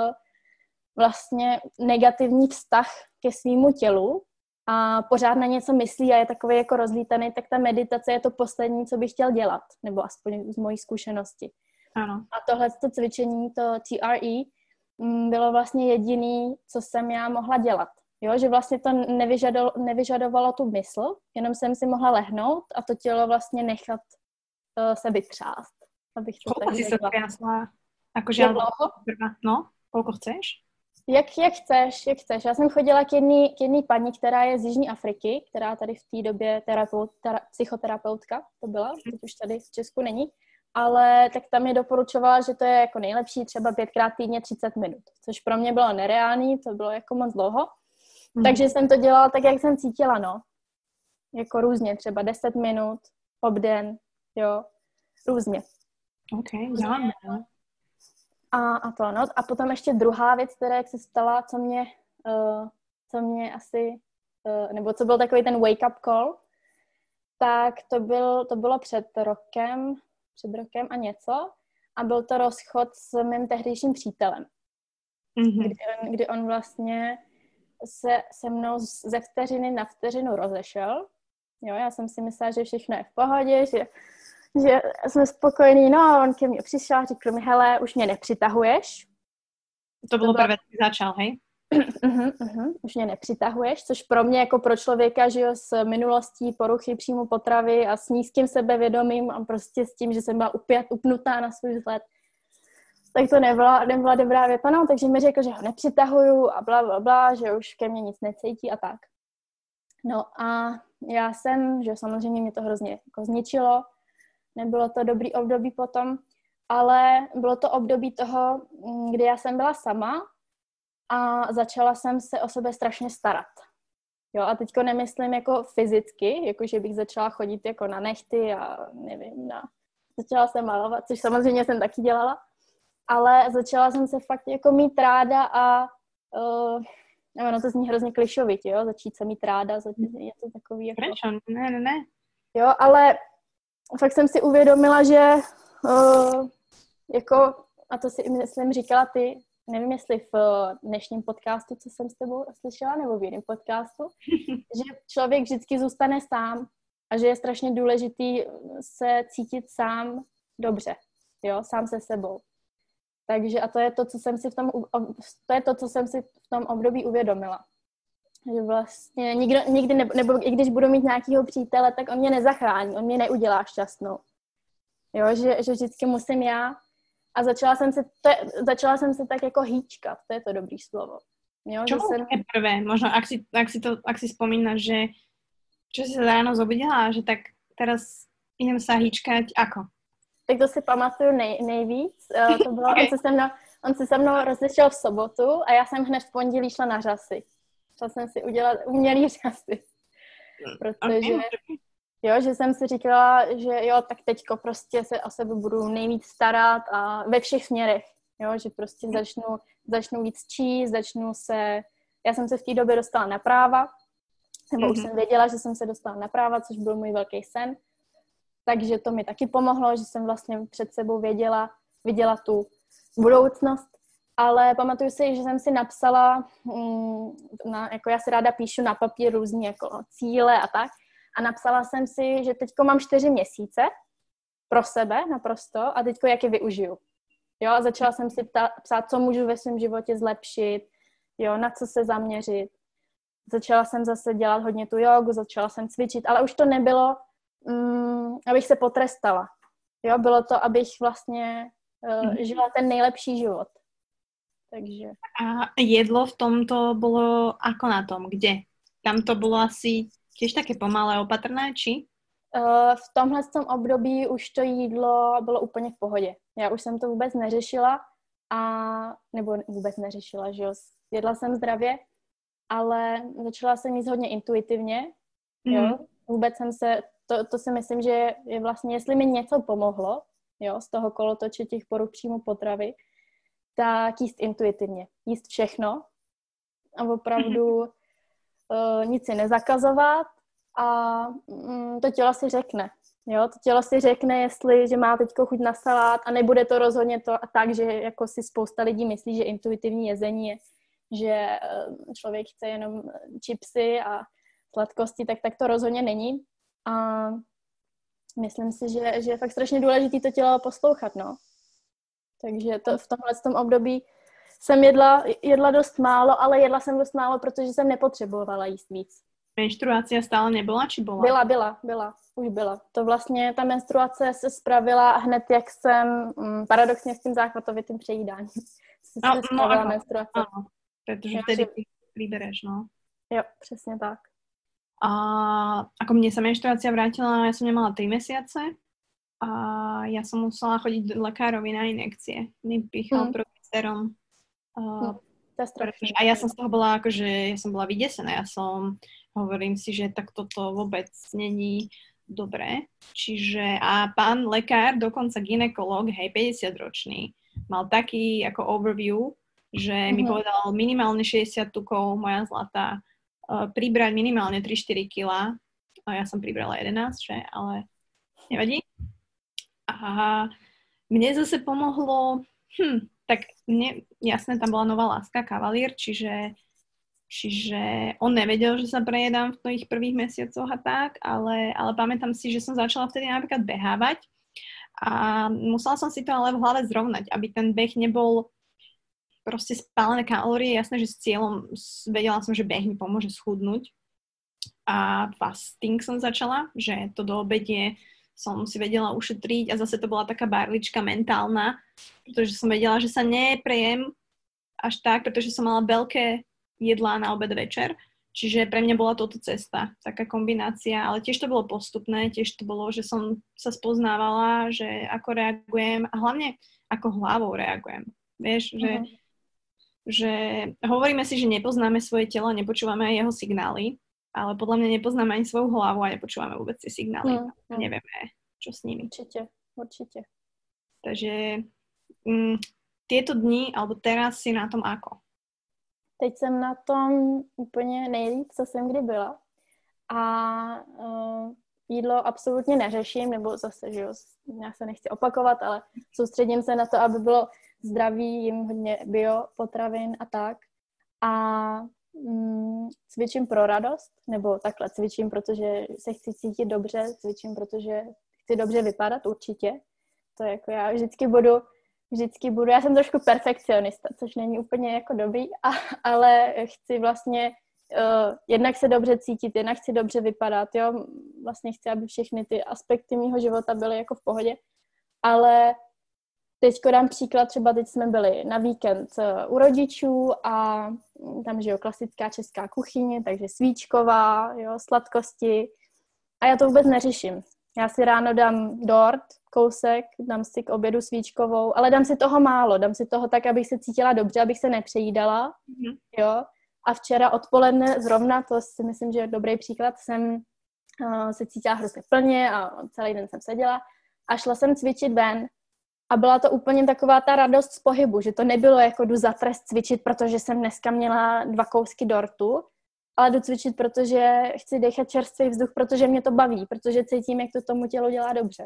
vlastně negativní vztah ke svýmu tělu a pořád na něco myslí a je takový jako rozlítaný, tak ta meditace je to poslední, co bych chtěl dělat, nebo aspoň z mojí zkušenosti. Ano. A tohleto cvičení, to TRE, bylo vlastně jediný, co jsem já mohla dělat. Jo, že vlastně to nevyžadovalo tu mysl, jenom jsem si mohla lehnout a to tělo vlastně nechat se vytřást. Abych to koľko si sa triasla? Akože no, koľko chceš? Jak chceš. Já jsem chodila k jedné paní, která je z Jižní Afriky, která tady v té době psychoterapeutka to byla, teď už tady v Česku není, ale tak tam mi doporučovala, že to je jako nejlepší třeba 5krát týdně 30 minut, což pro mě bylo nereálný, to bylo jako moc dlouho. Takže jsem to dělala tak, jak jsem cítila, no. Jako různě, třeba 10 minut, obden, jo, různě. OK, děláme, no. A to, no. A potom ještě druhá věc, která jak se stala, co mě asi, nebo co byl takový ten wake-up call, tak to bylo před rokem a něco. A byl to rozchod s mým tehdejším přítelem. Kdy on vlastně se mnou ze vteřiny na vteřinu rozešel. Jo, já jsem si myslela, že všechno je v pohodě, že jsme spokojení, no a on ke mně přišel a řekl mi, hele, už mě nepřitahuješ. To bylo prvé, když začal, hej? Už mě nepřitahuješ, což pro mě jako pro člověka, že jo, s minulostí poruchy příjmu potravy a s nízkým sebevědomím a prostě s tím, že jsem byla upnutá na svůj vzhled, tak to nebyla dobrá věta, no, takže mi řekl, že ho nepřitahuju a bla, že už ke mně nic necítí a tak. No a já jsem, že samozřejmě mě to hrozně jako zničilo, nebylo to dobrý období potom, ale bylo to období toho, kdy já jsem byla sama a začala jsem se o sebe strašně starat. Jo, a teďko nemyslím jako fyzicky, jako že bych začala chodit jako na nehty a nevím, začala jsem malovat, což samozřejmě jsem taky dělala, ale začala jsem se fakt jako mít ráda a no to zní hrozně klišovitě, jo, začít se mít ráda, je to takový jako... Prečo? Ne. Jo, ale fakt jsem si uvědomila, že jako, a to si myslím říkala ty, nevím jestli v dnešním podcastu, co jsem s tebou slyšela, nebo v jiném podcastu, že člověk vždycky zůstane sám a že je strašně důležitý se cítit sám dobře, jo, sám se sebou. Takže a to je to, co jsem si v tom období uvědomila. Že vlastně nikdy nebo i když budu mít nějakého přítele, tak on mě nezachrání, on mě neudělá šťastnou. Jo, že vždycky musím já. A začala jsem se tak jako hýčkat, to je to dobrý slovo. Jo, čo bolo také prvé? Možno, ak si spomínaš, že čo si sa ráno zobudila, že tak teraz idem sa hýčkať, ako? Tak to si pamatuju nejvíc. To bylo, okay. On se se mnou rozešel v sobotu a já jsem hned v pondělí šla na řasy. Šla jsem si udělat umělý řasy. Protože jo, že jsem si říkala, že jo, tak teďko prostě se o sebe budu nejvíc starat a ve všech směrech. Jo, že prostě začnu víc číst, já jsem se v té době dostala na práva, nebo už jsem věděla, že jsem se dostala na práva, což byl můj velký sen. Takže to mi taky pomohlo, že jsem vlastně před sebou viděla tu budoucnost. Ale pamatuju si, že jsem si napsala, jako já si ráda píšu na papír různý jako cíle a tak. a napsala jsem si, že teďko mám 4 měsíce pro sebe naprosto a teďko jak je využiju. Jo, a začala jsem si psát, co můžu ve svém životě zlepšit, jo, na co se zaměřit. Začala jsem zase dělat hodně tu jogu, začala jsem cvičit, ale už to nebylo, abych se potrestala. Jo, bylo to, abych vlastně žila ten nejlepší život. Takže. A jedlo v tomto bolo ako na tom? Kde? Tam to bolo asi tiež také pomalé, opatrné, či? V tomhle období už to jídlo bylo úplně v pohodě. Já už jsem to vůbec neřešila, nebo vůbec neřešila, že jo. Jedla jsem zdravě, ale začala jsem jíst hodně intuitivně, jo. Vůbec jsem se, to si myslím, že je vlastně, jestli mi něco pomohlo, jo, z toho kolotoče těch poruch příjmu potravy, tak jíst intuitivně. Jíst všechno a opravdu nic si nezakazovat a to tělo si řekne. Jo? To tělo si řekne, jestli, že má teďko chuť na salát a nebude to rozhodně to tak, že jako si spousta lidí myslí, že intuitivní jezení je, že člověk chce jenom chipsy a sladkosti, tak to rozhodně není. A myslím si, že je fakt strašně důležité to tělo poslouchat, no. Takže v tomhle období jsem jedla dost málo, ale jedla jsem dost málo, protože jsem nepotřebovala jíst víc. Menštruácia stále nebola, či bola? Byla, už byla. To vlastně, ta menstruace se spravila hned, jak jsem, paradoxně s tím záchvatovitým přejídáním, spravila menstruace. Áno, pretože vtedy vybereš, no. Jo, přesně tak. A ako mne sa menštruácia vrátila, ja som nemala 3 mesiace a ja som musela chodiť lekárovi na injekcie. Mi pýchal progesteron. A ja som z toho bola akože, ja som bola vydesená. Hovorím si, že tak toto vôbec není dobré. Čiže a pán lekár, dokonca gynekolog, 50-ročný, mal taký ako overview, že mi povedal minimálne 60 tukov, moja zlatá, pribrať minimálne 3-4 kg. A ja som pribrala 11, že? Ale nevadí. A mne zase pomohlo, tak mne, jasné, tam bola nová láska, kavalír, čiže on nevedel, že sa prejedám v tých prvých mesiacoch a tak, ale pamätám si, že som začala vtedy napríklad behávať a musela som si to ale v hlave zrovnať, aby ten beh nebol proste spálené kalórie, jasné, že s cieľom, vedela som, že beh mi pomôže schudnúť a fasting som začala, že to do obedie som si vedela ušetriť a zase to bola taká barlička mentálna, pretože som vedela, že sa neprejem až tak, pretože som mala veľké jedlá na obed večer, čiže pre mňa bola toto cesta, taká kombinácia, ale tiež to bolo postupné, tiež to bolo, že som sa spoznávala, že ako reagujem a hlavne ako hlavou reagujem. Vieš, že hovoríme si, že nepoznáme svoje telo, nepočúvame aj jeho signály, ale podľa mňa nepoznáme ani svoju hlavu a nepočúvame vôbec tie signály. Nevieme, čo s nimi. Určite. Takže tieto dni, alebo teraz si na tom ako? Teď jsem na tom úplně nejlíp, co jsem kdy byla. A jídlo absolutně neřeším, nebo zase, že jo, já se nechci opakovat, ale soustředím se na to, aby bylo zdravý, jim hodně bio potravin a tak. A cvičím pro radost, nebo takhle cvičím, protože se chci cítit dobře, cvičím, protože chci dobře vypadat určitě. To jako já vždycky budu, já jsem trošku perfekcionista, což není úplně jako dobrý, ale chci vlastně jednak se dobře cítit, jednak chci dobře vypadat, jo, vlastně chci, aby všechny ty aspekty mýho života byly jako v pohodě, ale teďko dám příklad, třeba teď jsme byli na víkend u rodičů a tam, že jo, klasická česká kuchyně, takže svíčková, jo, sladkosti a já to vůbec neřeším. Já si ráno dám dort, kousek, dám si k obědu svíčkovou, ale dám si toho málo, dám si toho tak, abych se cítila dobře, abych se nepřejídala, jo. A včera odpoledne zrovna, to si myslím, že je dobrý příklad, jsem se cítila hrozně plně a celý den jsem seděla a šla jsem cvičit ven a byla to úplně taková ta radost z pohybu, že to nebylo jako jdu za trest cvičit, protože jsem dneska měla 2 kousky dortu, ale jdu cvičit, protože chci dechat čerstvý vzduch, protože mě to baví, protože cítím, jak to tomu tělu dělá dobře.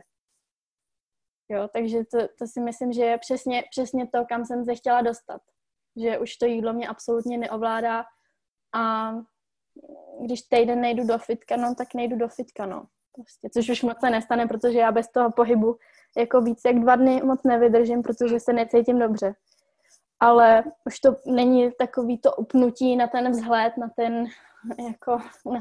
Jo, takže to si myslím, že je přesně to, kam jsem se chtěla dostat. Že už to jídlo mě absolutně neovládá a když týden nejdu do fitka, no tak nejdu do fitka, no. Prostě, což už moc se nestane, protože já bez toho pohybu jako víc jak 2 dny moc nevydržím, protože se necítím dobře. Ale už to není takový to upnutí na ten vzhled, na ten, jako,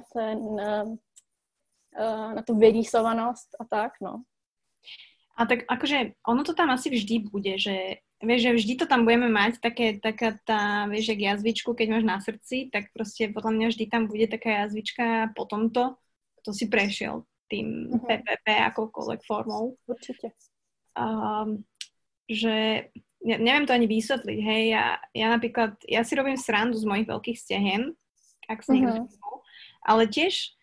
na tu vyrýsovanost a tak, no. A tak akože ono to tam asi vždy bude, že vieš, že vždy to tam budeme mať, taká tá, vieš, jak jazvičku, keď máš na srdci, tak proste podľa mňa vždy tam bude taká jazvička po tomto, kto si prešiel tým PPP akokoľvek formou. Určite. Že neviem to ani vysvetliť, hej, ja napríklad, ja si robím srandu z mojich veľkých stehien, ak si niekto všimol, ale tiež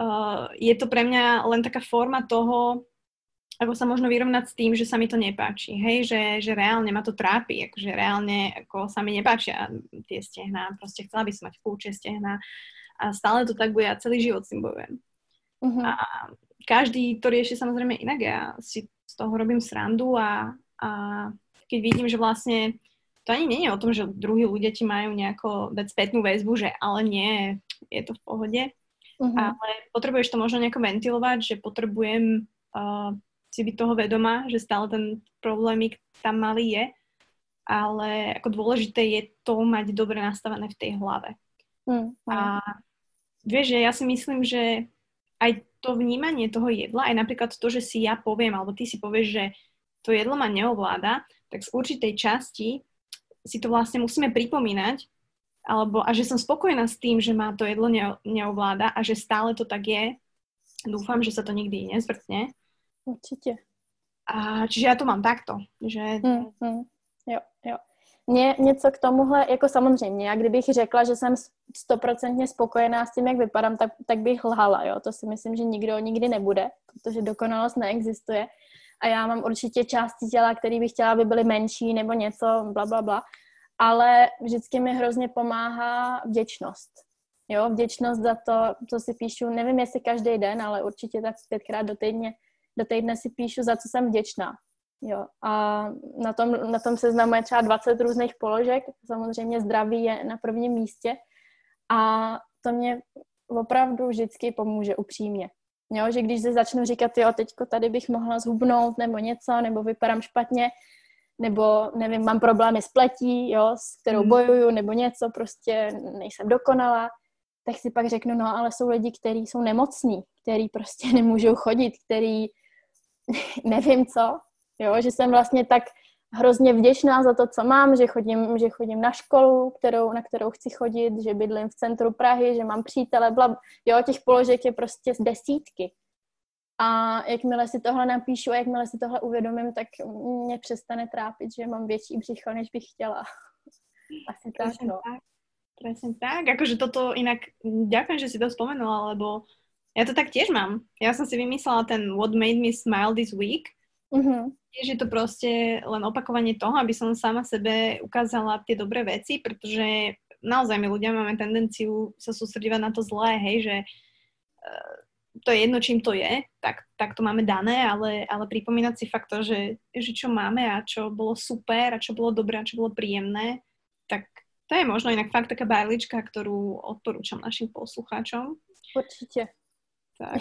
je to pre mňa len taká forma toho, ako sa možno vyrovnať s tým, že sa mi to nepáči, hej, že reálne ma to trápi, akože reálne ako sa mi nepáčia tie stehná, proste chcela by som mať kľúčie stehná a stále to tak bude, ja celý život s tým bojujem. A každý to rieši samozrejme inak, ja si z toho robím srandu a keď vidím, že vlastne to ani nie je o tom, že druhí ľudia ti majú nejako dať spätnú väzbu, že ale nie, je to v pohode, ale potrebuješ to možno nejako ventilovať, že potrebujem si byť toho vedomá, že stále ten problémik tam malý je, ale ako dôležité je to mať dobre nastavené v tej hlave. A vieš, že ja si myslím, že aj to vnímanie toho jedla, aj napríklad to, že si ja poviem, alebo ty si povieš, že to jedlo ma neovláda, tak z určitej časti si to vlastne musíme pripomínať, a že som spokojná s tým, že ma to jedlo neovláda a že stále to tak je. Dúfam, že sa to nikdy nezvrtne. Určitě. A čiže já to mám takto, že... Jo. Mně něco k tomuhle, jako samozřejmě, já kdybych řekla, že jsem 100% spokojená s tím, jak vypadám, tak bych lhala, jo. To si myslím, že nikdo nikdy nebude, protože dokonalost neexistuje. A já mám určitě části těla, které bych chtěla, aby byly menší nebo něco, bla. Ale vždycky mi hrozně pomáhá vděčnost. Jo, vděčnost za to, co si píšu, nevím, jestli každý den, ale určitě tak 5krát do týdne si píšu, za co jsem vděčná. Jo. A na tom seznamu je třeba 20 různých položek. Samozřejmě zdraví je na prvním místě. A to mě opravdu vždycky pomůže upřímně. Jo, že když si začnu říkat, jo, teďko tady bych mohla zhubnout nebo něco, nebo vypadám špatně, nebo nevím, mám problémy s pletí, jo, s kterou bojuju, nebo něco, prostě nejsem dokonalá, tak si pak řeknu, no ale jsou lidi, kteří jsou nemocní, kteří prostě nemůžou chodit, kteří nevím co, jo, že jsem vlastně tak hrozně vděčná za to, co mám, že chodím na školu, na kterou chci chodit, že bydlím v centru Prahy, že mám přítele, jo, těch položek je prostě z desítky. A jakmile si tohle napíšu a jakmile si tohle uvědomím, tak mě přestane trápit, že mám větší břicho, než bych chtěla. Asi tak, no. Presne tak, akože toto inak, ďakujem, že si to spomenula, lebo ja to tak tiež mám. Ja som si vymyslela ten What Made Me Smile This Week. Tiež je to proste len opakovanie toho, aby som sama sebe ukázala tie dobré veci, pretože naozaj my ľudia máme tendenciu sa sústredívať na to zlé, hej, že to je jedno, čím to je, tak to máme dané, ale pripomínať si fakt to, že čo máme a čo bolo super a čo bolo dobré a čo bolo príjemné, tak to je možno inak fakt taká bajlička, ktorú odporúčam našim poslucháčom. Určite. Tak.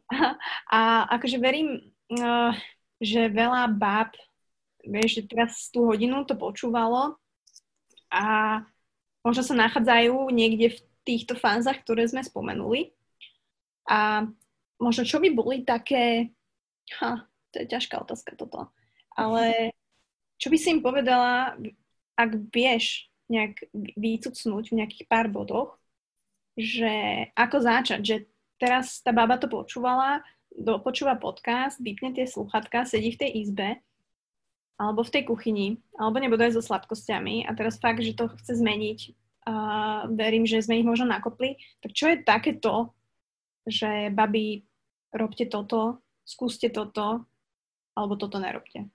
A akože verím, že veľa báb, vieš, že teraz tú hodinu to počúvalo a možno sa nachádzajú niekde v týchto fázach, ktoré sme spomenuli. A možno čo by boli také, to je ťažká otázka toto, ale čo by si im povedala, ak vieš nejak vycucnúť v nejakých pár bodoch, že ako začať, že teraz tá baba to počúvala, počúva podcast, vypne tie slúchatka, sedí v tej izbe, alebo v tej kuchyni, alebo nebude aj so sladkosťami a teraz fakt, že to chce zmeniť a verím, že sme ich možno nakopli, tak čo je takéto, že babi, robte toto, skúste toto, alebo toto nerobte?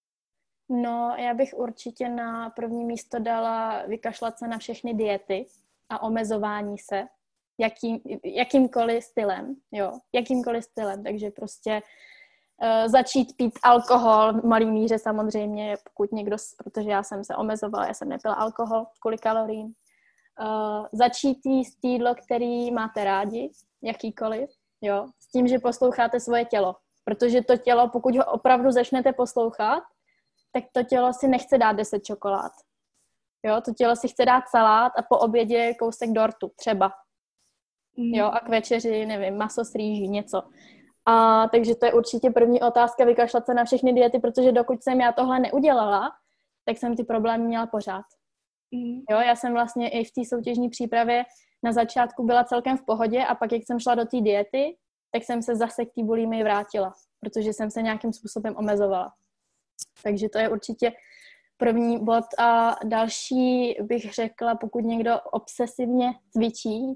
No, já bych určitě na první místo dala vykašlat se na všechny diety a omezování se jakýmkoliv stylem, jo, jakýmkoliv stylem, takže prostě začít pít alkohol v malý míře samozřejmě, pokud někdo, protože já jsem se omezovala, já jsem nepila alkohol kvůli kaloriím začít jíst jídlo, který máte rádi, jakýkoliv, jo, s tím, že posloucháte svoje tělo. Protože to tělo, pokud ho opravdu začnete poslouchat, tak to tělo si nechce dát 10 čokolád. Jo, to tělo si chce dát salát a po obědě kousek dortu, třeba. Jo, a k večeři, nevím, maso s rýží, něco. A takže to je určitě první otázka, vykašlat se na všechny diety, protože dokud jsem já tohle neudělala, tak jsem ty problémy měla pořád. Jo, já jsem vlastně i v té soutěžní přípravě na začátku byla celkem v pohodě a pak, jak jsem šla do té diety, tak jsem se zase k té bulimii vrátila, protože jsem se nějakým způsobem omezovala. Takže to je určitě první bod. A další bych řekla, pokud někdo obsesivně cvičí,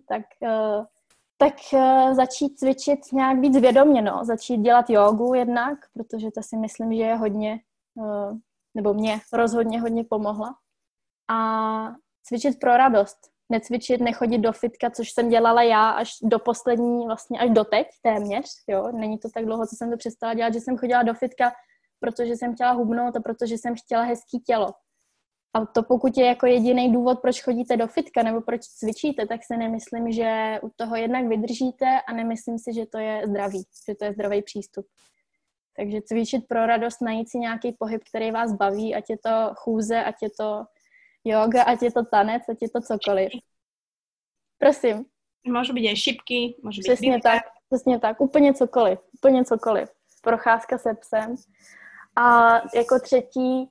tak začít cvičit nějak víc vědomě, no. Začít dělat jógu jednak, protože to si myslím, že je hodně, nebo mě rozhodně hodně pomohla. A cvičit pro radost. Necvičit, nechodit do fitka, což jsem dělala já až do poslední, vlastně až doteď téměř, jo. Není to tak dlouho, co jsem to přestala dělat, že jsem chodila do fitka, protože jsem chtěla hubnout a protože jsem chtěla hezký tělo. A to pokud je jako jediný důvod, proč chodíte do fitka nebo proč cvičíte, tak si nemyslím, že u toho jednak vydržíte a nemyslím si, že to je zdravý, že to je zdravý přístup. Takže cvičit pro radost, najít si nějaký pohyb, který vás baví, ať je to chůze, ať je to yoga, ať je to tanec, ať je to cokoliv. Prosím. Môžu byť aj šipky, môžu byť... Přesně tak, úplně cokoliv. Procházka se psem. A jako třetí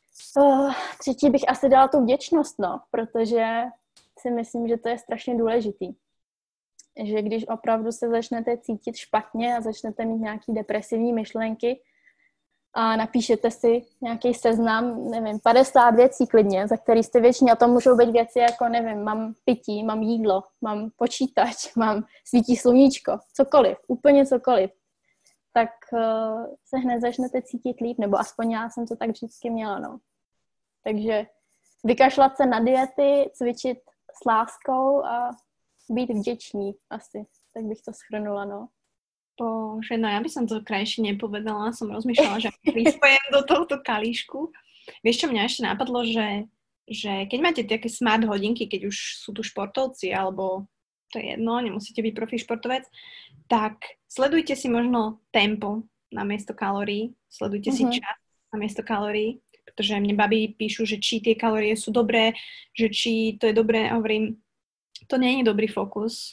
bych asi dala tu vděčnost, no, protože si myslím, že to je strašně důležitý. Že když opravdu se začnete cítit špatně a začnete mít nějaký depresivní myšlenky a napíšete si nějaký seznam, nevím, 50 věcí klidně, za který jste věční, a to můžou být věci jako, nevím, mám pití, mám jídlo, mám počítač, mám svítí sluníčko, cokoliv, úplně cokoliv, tak se hned začnete cítit líp, nebo aspoň já jsem to tak vždycky měla, no. Takže vykašlat se na diety, cvičit s láskou a být vděčný asi, tak bych to shrnula, no. Bože, no ja by som to krajšie nepovedala, som rozmýšľala, že prispojem do tohto kalíšku. Vieš, čo mňa ešte napadlo, že keď máte také smart hodinky, keď už sú tu športovci, alebo to je jedno, nemusíte byť profi športovec, tak sledujte si možno tempo namiesto kalórií, sledujte si čas namiesto kalórií, pretože mne babi píšu, že či tie kalórie sú dobré, že či to je dobré, a hovorím, to nie je dobrý fokus.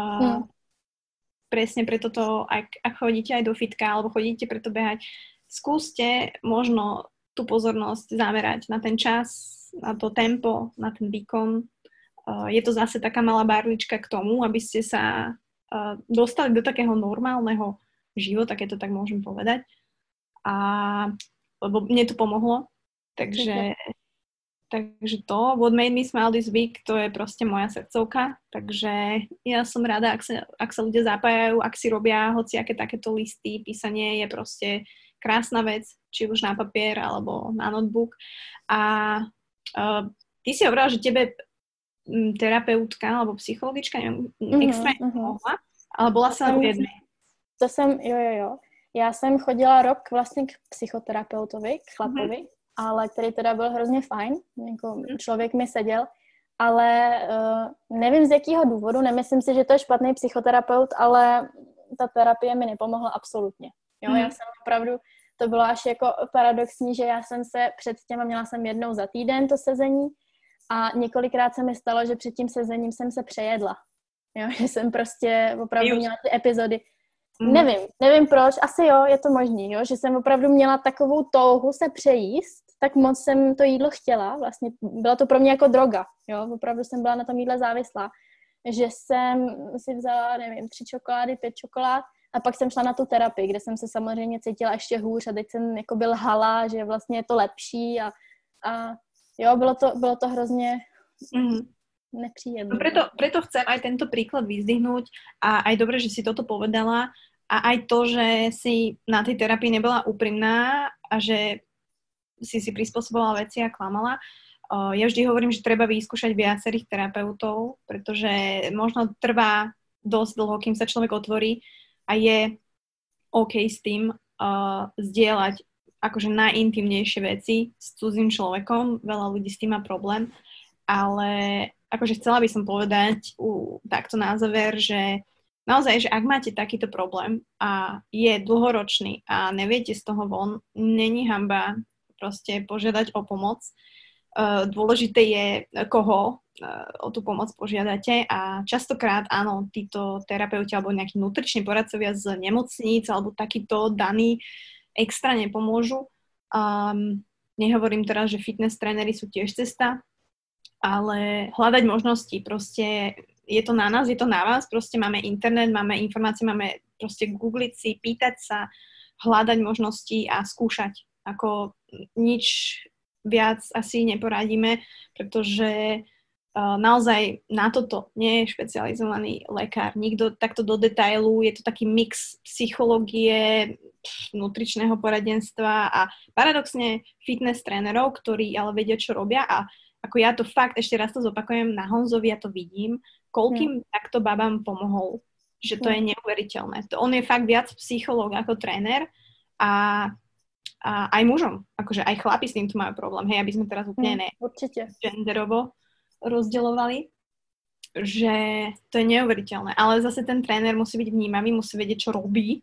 Presne preto to, ak chodíte aj do fitka alebo chodíte preto behať, skúste možno tú pozornosť zamerať na ten čas, na to tempo, na ten výkon. Je to zase taká malá barlička k tomu, aby ste sa dostali do takého normálneho života, keď to tak môžem povedať. Lebo mne to pomohlo. Takže to, What Made Me Smile This Week, to je proste moja srdcovka, takže ja som rada, ak sa ľudia zapájajú, ak si robia hociaké takéto listy, písanie je proste krásna vec, či už na papier alebo na notebook. A ty si hovorila, že tebe terapeutka alebo psychologička extrémne pomohla, ale bola sa len v jednej. To jsem, jo. Já jsem chodila rok vlastně k psychoterapeutovi, k chlapovi, ale který teda byl hrozně fajn, jako člověk mi seděl, ale nevím z jakého důvodu, nemyslím si, že to je špatný psychoterapeut, ale ta terapie mi nepomohla absolutně. Jo, já jsem opravdu, to bylo až jako paradoxní, že já jsem se předtím, měla jsem jednou za týden to sezení a několikrát se mi stalo, že před tím sezením jsem se přejedla. Jo, že jsem prostě opravdu měla ty epizody. Nevím proč, asi jo, je to možný, jo, že jsem opravdu měla takovou touhu se přejíst, tak moc jsem to jídlo chtěla, vlastně bylo to pro mě jako droga, jo, opravdu jsem byla na tom jídle závislá, že jsem si vzala, nevím, 3 čokolády, 5 čokolád a pak jsem šla na tu terapii, kde jsem se samozřejmě cítila ještě hůř a teď jsem jako byl lhala, že vlastně je to lepší a jo, bylo to hrozně nepříjemné. No preto chcem aj tento príklad vyzdvihnúť a aj dobre, že si toto povedala a aj to, že si na tej terapii nebola úprimná a že si prispôsobovala veci a klamala. Ja vždy hovorím, že treba vyskúšať viacerých terapeutov, pretože možno trvá dosť dlho, kým sa človek otvorí a je OK s tým zdieľať akože najintimnejšie veci s cudzým človekom. Veľa ľudí s tým má problém. ale akože chcela by som povedať takto na záver, že naozaj, že ak máte takýto problém a je dlhoročný a neviete z toho von, není hanba proste požiadať o pomoc. Dôležité je, koho o tú pomoc požiadate a častokrát áno, títo terapeuti alebo nejakí nutriční poradcovia z nemocníc alebo takíto daní extra nepomôžu. Nehovorím teraz, že fitness tréneri sú tiež cesta, ale hľadať možnosti, proste je to na nás, je to na vás, proste máme internet, máme informácie, máme proste googliť si, pýtať sa, hľadať možnosti a skúšať. Ako nič viac asi neporadíme, pretože naozaj na toto nie je špecializovaný lekár. Nikto takto do detailu, je to taký mix psychológie, nutričného poradenstva a paradoxne fitness trénerov, ktorí ale vedia, čo robia a ako ja to fakt, ešte raz to zopakujem, na Honzovi ja to vidím, koľkým takto babám pomohol, že to je neuveriteľné. On je fakt viac psychológ ako tréner a aj mužom, akože aj chlapi s týmto majú problém, hej, aby sme teraz úplne genderovo rozdeľovali, že to je neuveriteľné. Ale zase ten tréner musí byť vnímavý, musí vedieť, čo robí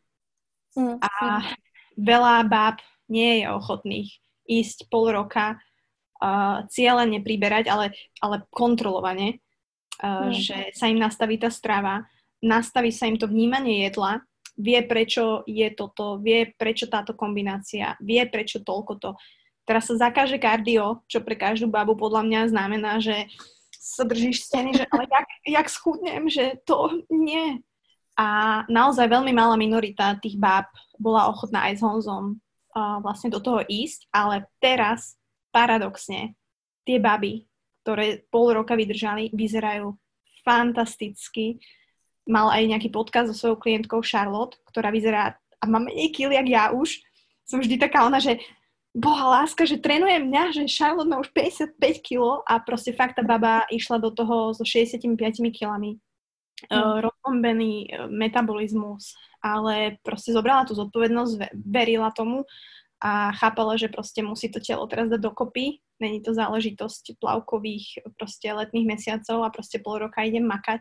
a veľa báb nie je ochotných ísť pol roka cieľene priberať, ale kontrolovane, že sa im nastaví tá strava, nastaví sa im to vnímanie jedla, vie, prečo je toto, vie, prečo táto kombinácia, vie, prečo toľko to. Teraz sa zakáže kardio, čo pre každú babu podľa mňa znamená, že sa držíš steny, že ale jak schudnem, že to nie. A naozaj veľmi malá minorita tých báb bola ochotná aj s Honzom vlastne do toho ísť, ale teraz paradoxne tie baby, ktoré pol roka vydržali, vyzerajú fantasticky. Mal aj nejaký podcast so svojou klientkou Charlotte, ktorá vyzerá a má menej kil, jak ja už. Som vždy taká ona, že boha láska, že trénuje mňa, že Charlotte má už 55 kg a proste fakt tá baba išla do toho so 65 kilami. Rozbombený metabolizmus, ale proste zobrala tú zodpovednosť, verila tomu a chápala, že proste musí to telo teraz dať dokopy. Není to záležitosť plavkových proste letných mesiacov a proste pol roka idem makať.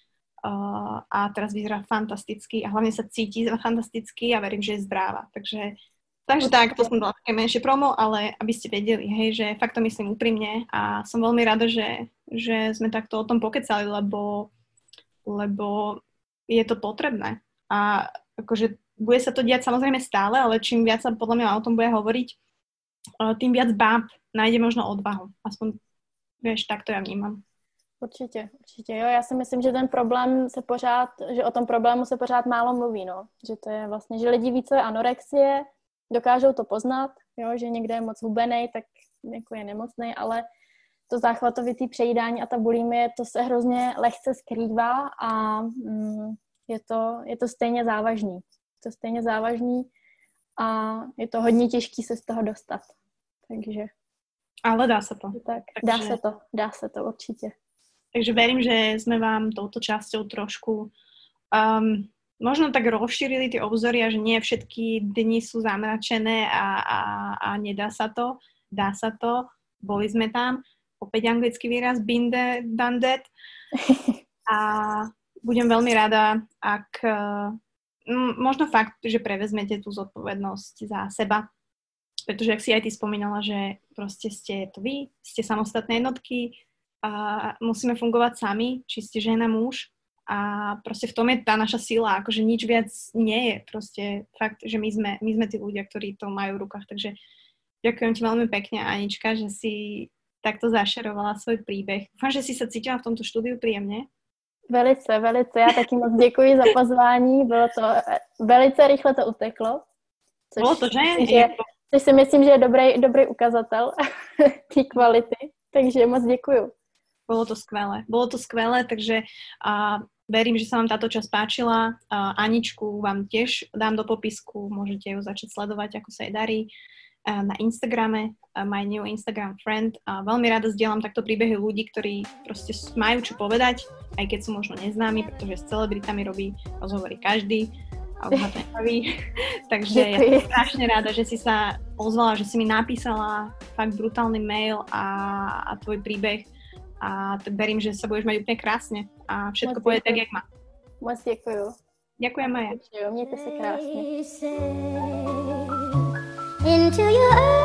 A teraz vyzerá fantasticky a hlavne sa cíti fantasticky a verím, že je zdravá. Takže tak, to som dala také menšie promo, ale aby ste vedeli, hej, že fakt to myslím úprimne a som veľmi rada, že sme takto o tom pokecali, lebo je to potrebné. A akože bude sa to diať samozrejme stále, ale čím viac sa podľa mňa o tom bude hovoriť, tým viac báb nájde možno odvahu. Aspoň, vieš, tak to ja vnímam. Určitě. Jo, já si myslím, že že o tom problému se pořád málo mluví, no. Že to je vlastně, že lidi ví, co je anorexie, dokážou to poznat, jo, že někde je moc hubenej, tak jako je nemocnej, ale to záchvatovitý přejídání a ta bulimie, to se hrozně lehce skrývá a je to stejně závažný. A je to hodně těžký se z toho dostat. Takže. Ale dá se to. Tak, dá se to určitě. Takže verím, že sme vám touto časťou trošku možno tak rozšírili tie obzory a že nie všetky dni sú zamračené a nedá sa to. Dá sa to. Boli sme tam. Opäť anglický výraz, been there, done that. A budem veľmi rada, ak možno fakt, že prevezmete tú zodpovednosť za seba. Pretože, ak si aj ty spomínala, že proste ste to vy, ste samostatné jednotky a musíme fungovať sami, či ste žena, muž. A proste v tom je tá naša sila, akože nič viac nie je. Proste fakt, že my sme tí ľudia, ktorí to majú v rukách. Takže ďakujem ti veľmi pekne, Anička, že si takto zašerovala svoj príbeh. Dúfam, že si sa cítila v tomto štúdiu príjemne. Velice. Já taky moc děkuji za pozvání. Bylo to velice rychle to uteklo. Bylo to, že? Což si myslím, že je dobrý ukazatel té kvality. Takže moc děkuju. Bolo to skvelé, takže verím, že sa vám táto časť páčila. Aničku vám tiež dám do popisku, môžete ju začať sledovať, ako sa jej darí. Na Instagrame, my new Instagram friend. Veľmi rada zdieľam takto príbehy ľudí, ktorí proste majú čo povedať, aj keď sú možno neznámi, pretože s celebritami robí rozhovory každý a už ma to nebaví. Takže ja som strašne rada, že si sa ozvala, že si mi napísala fakt brutálny mail a tvoj príbeh a verím, že sa budeš mať úplne krásne a všetko pôjde tak, jak má. Moc děkuju. Ďakujem, Maja. Mějte se krásně. Into your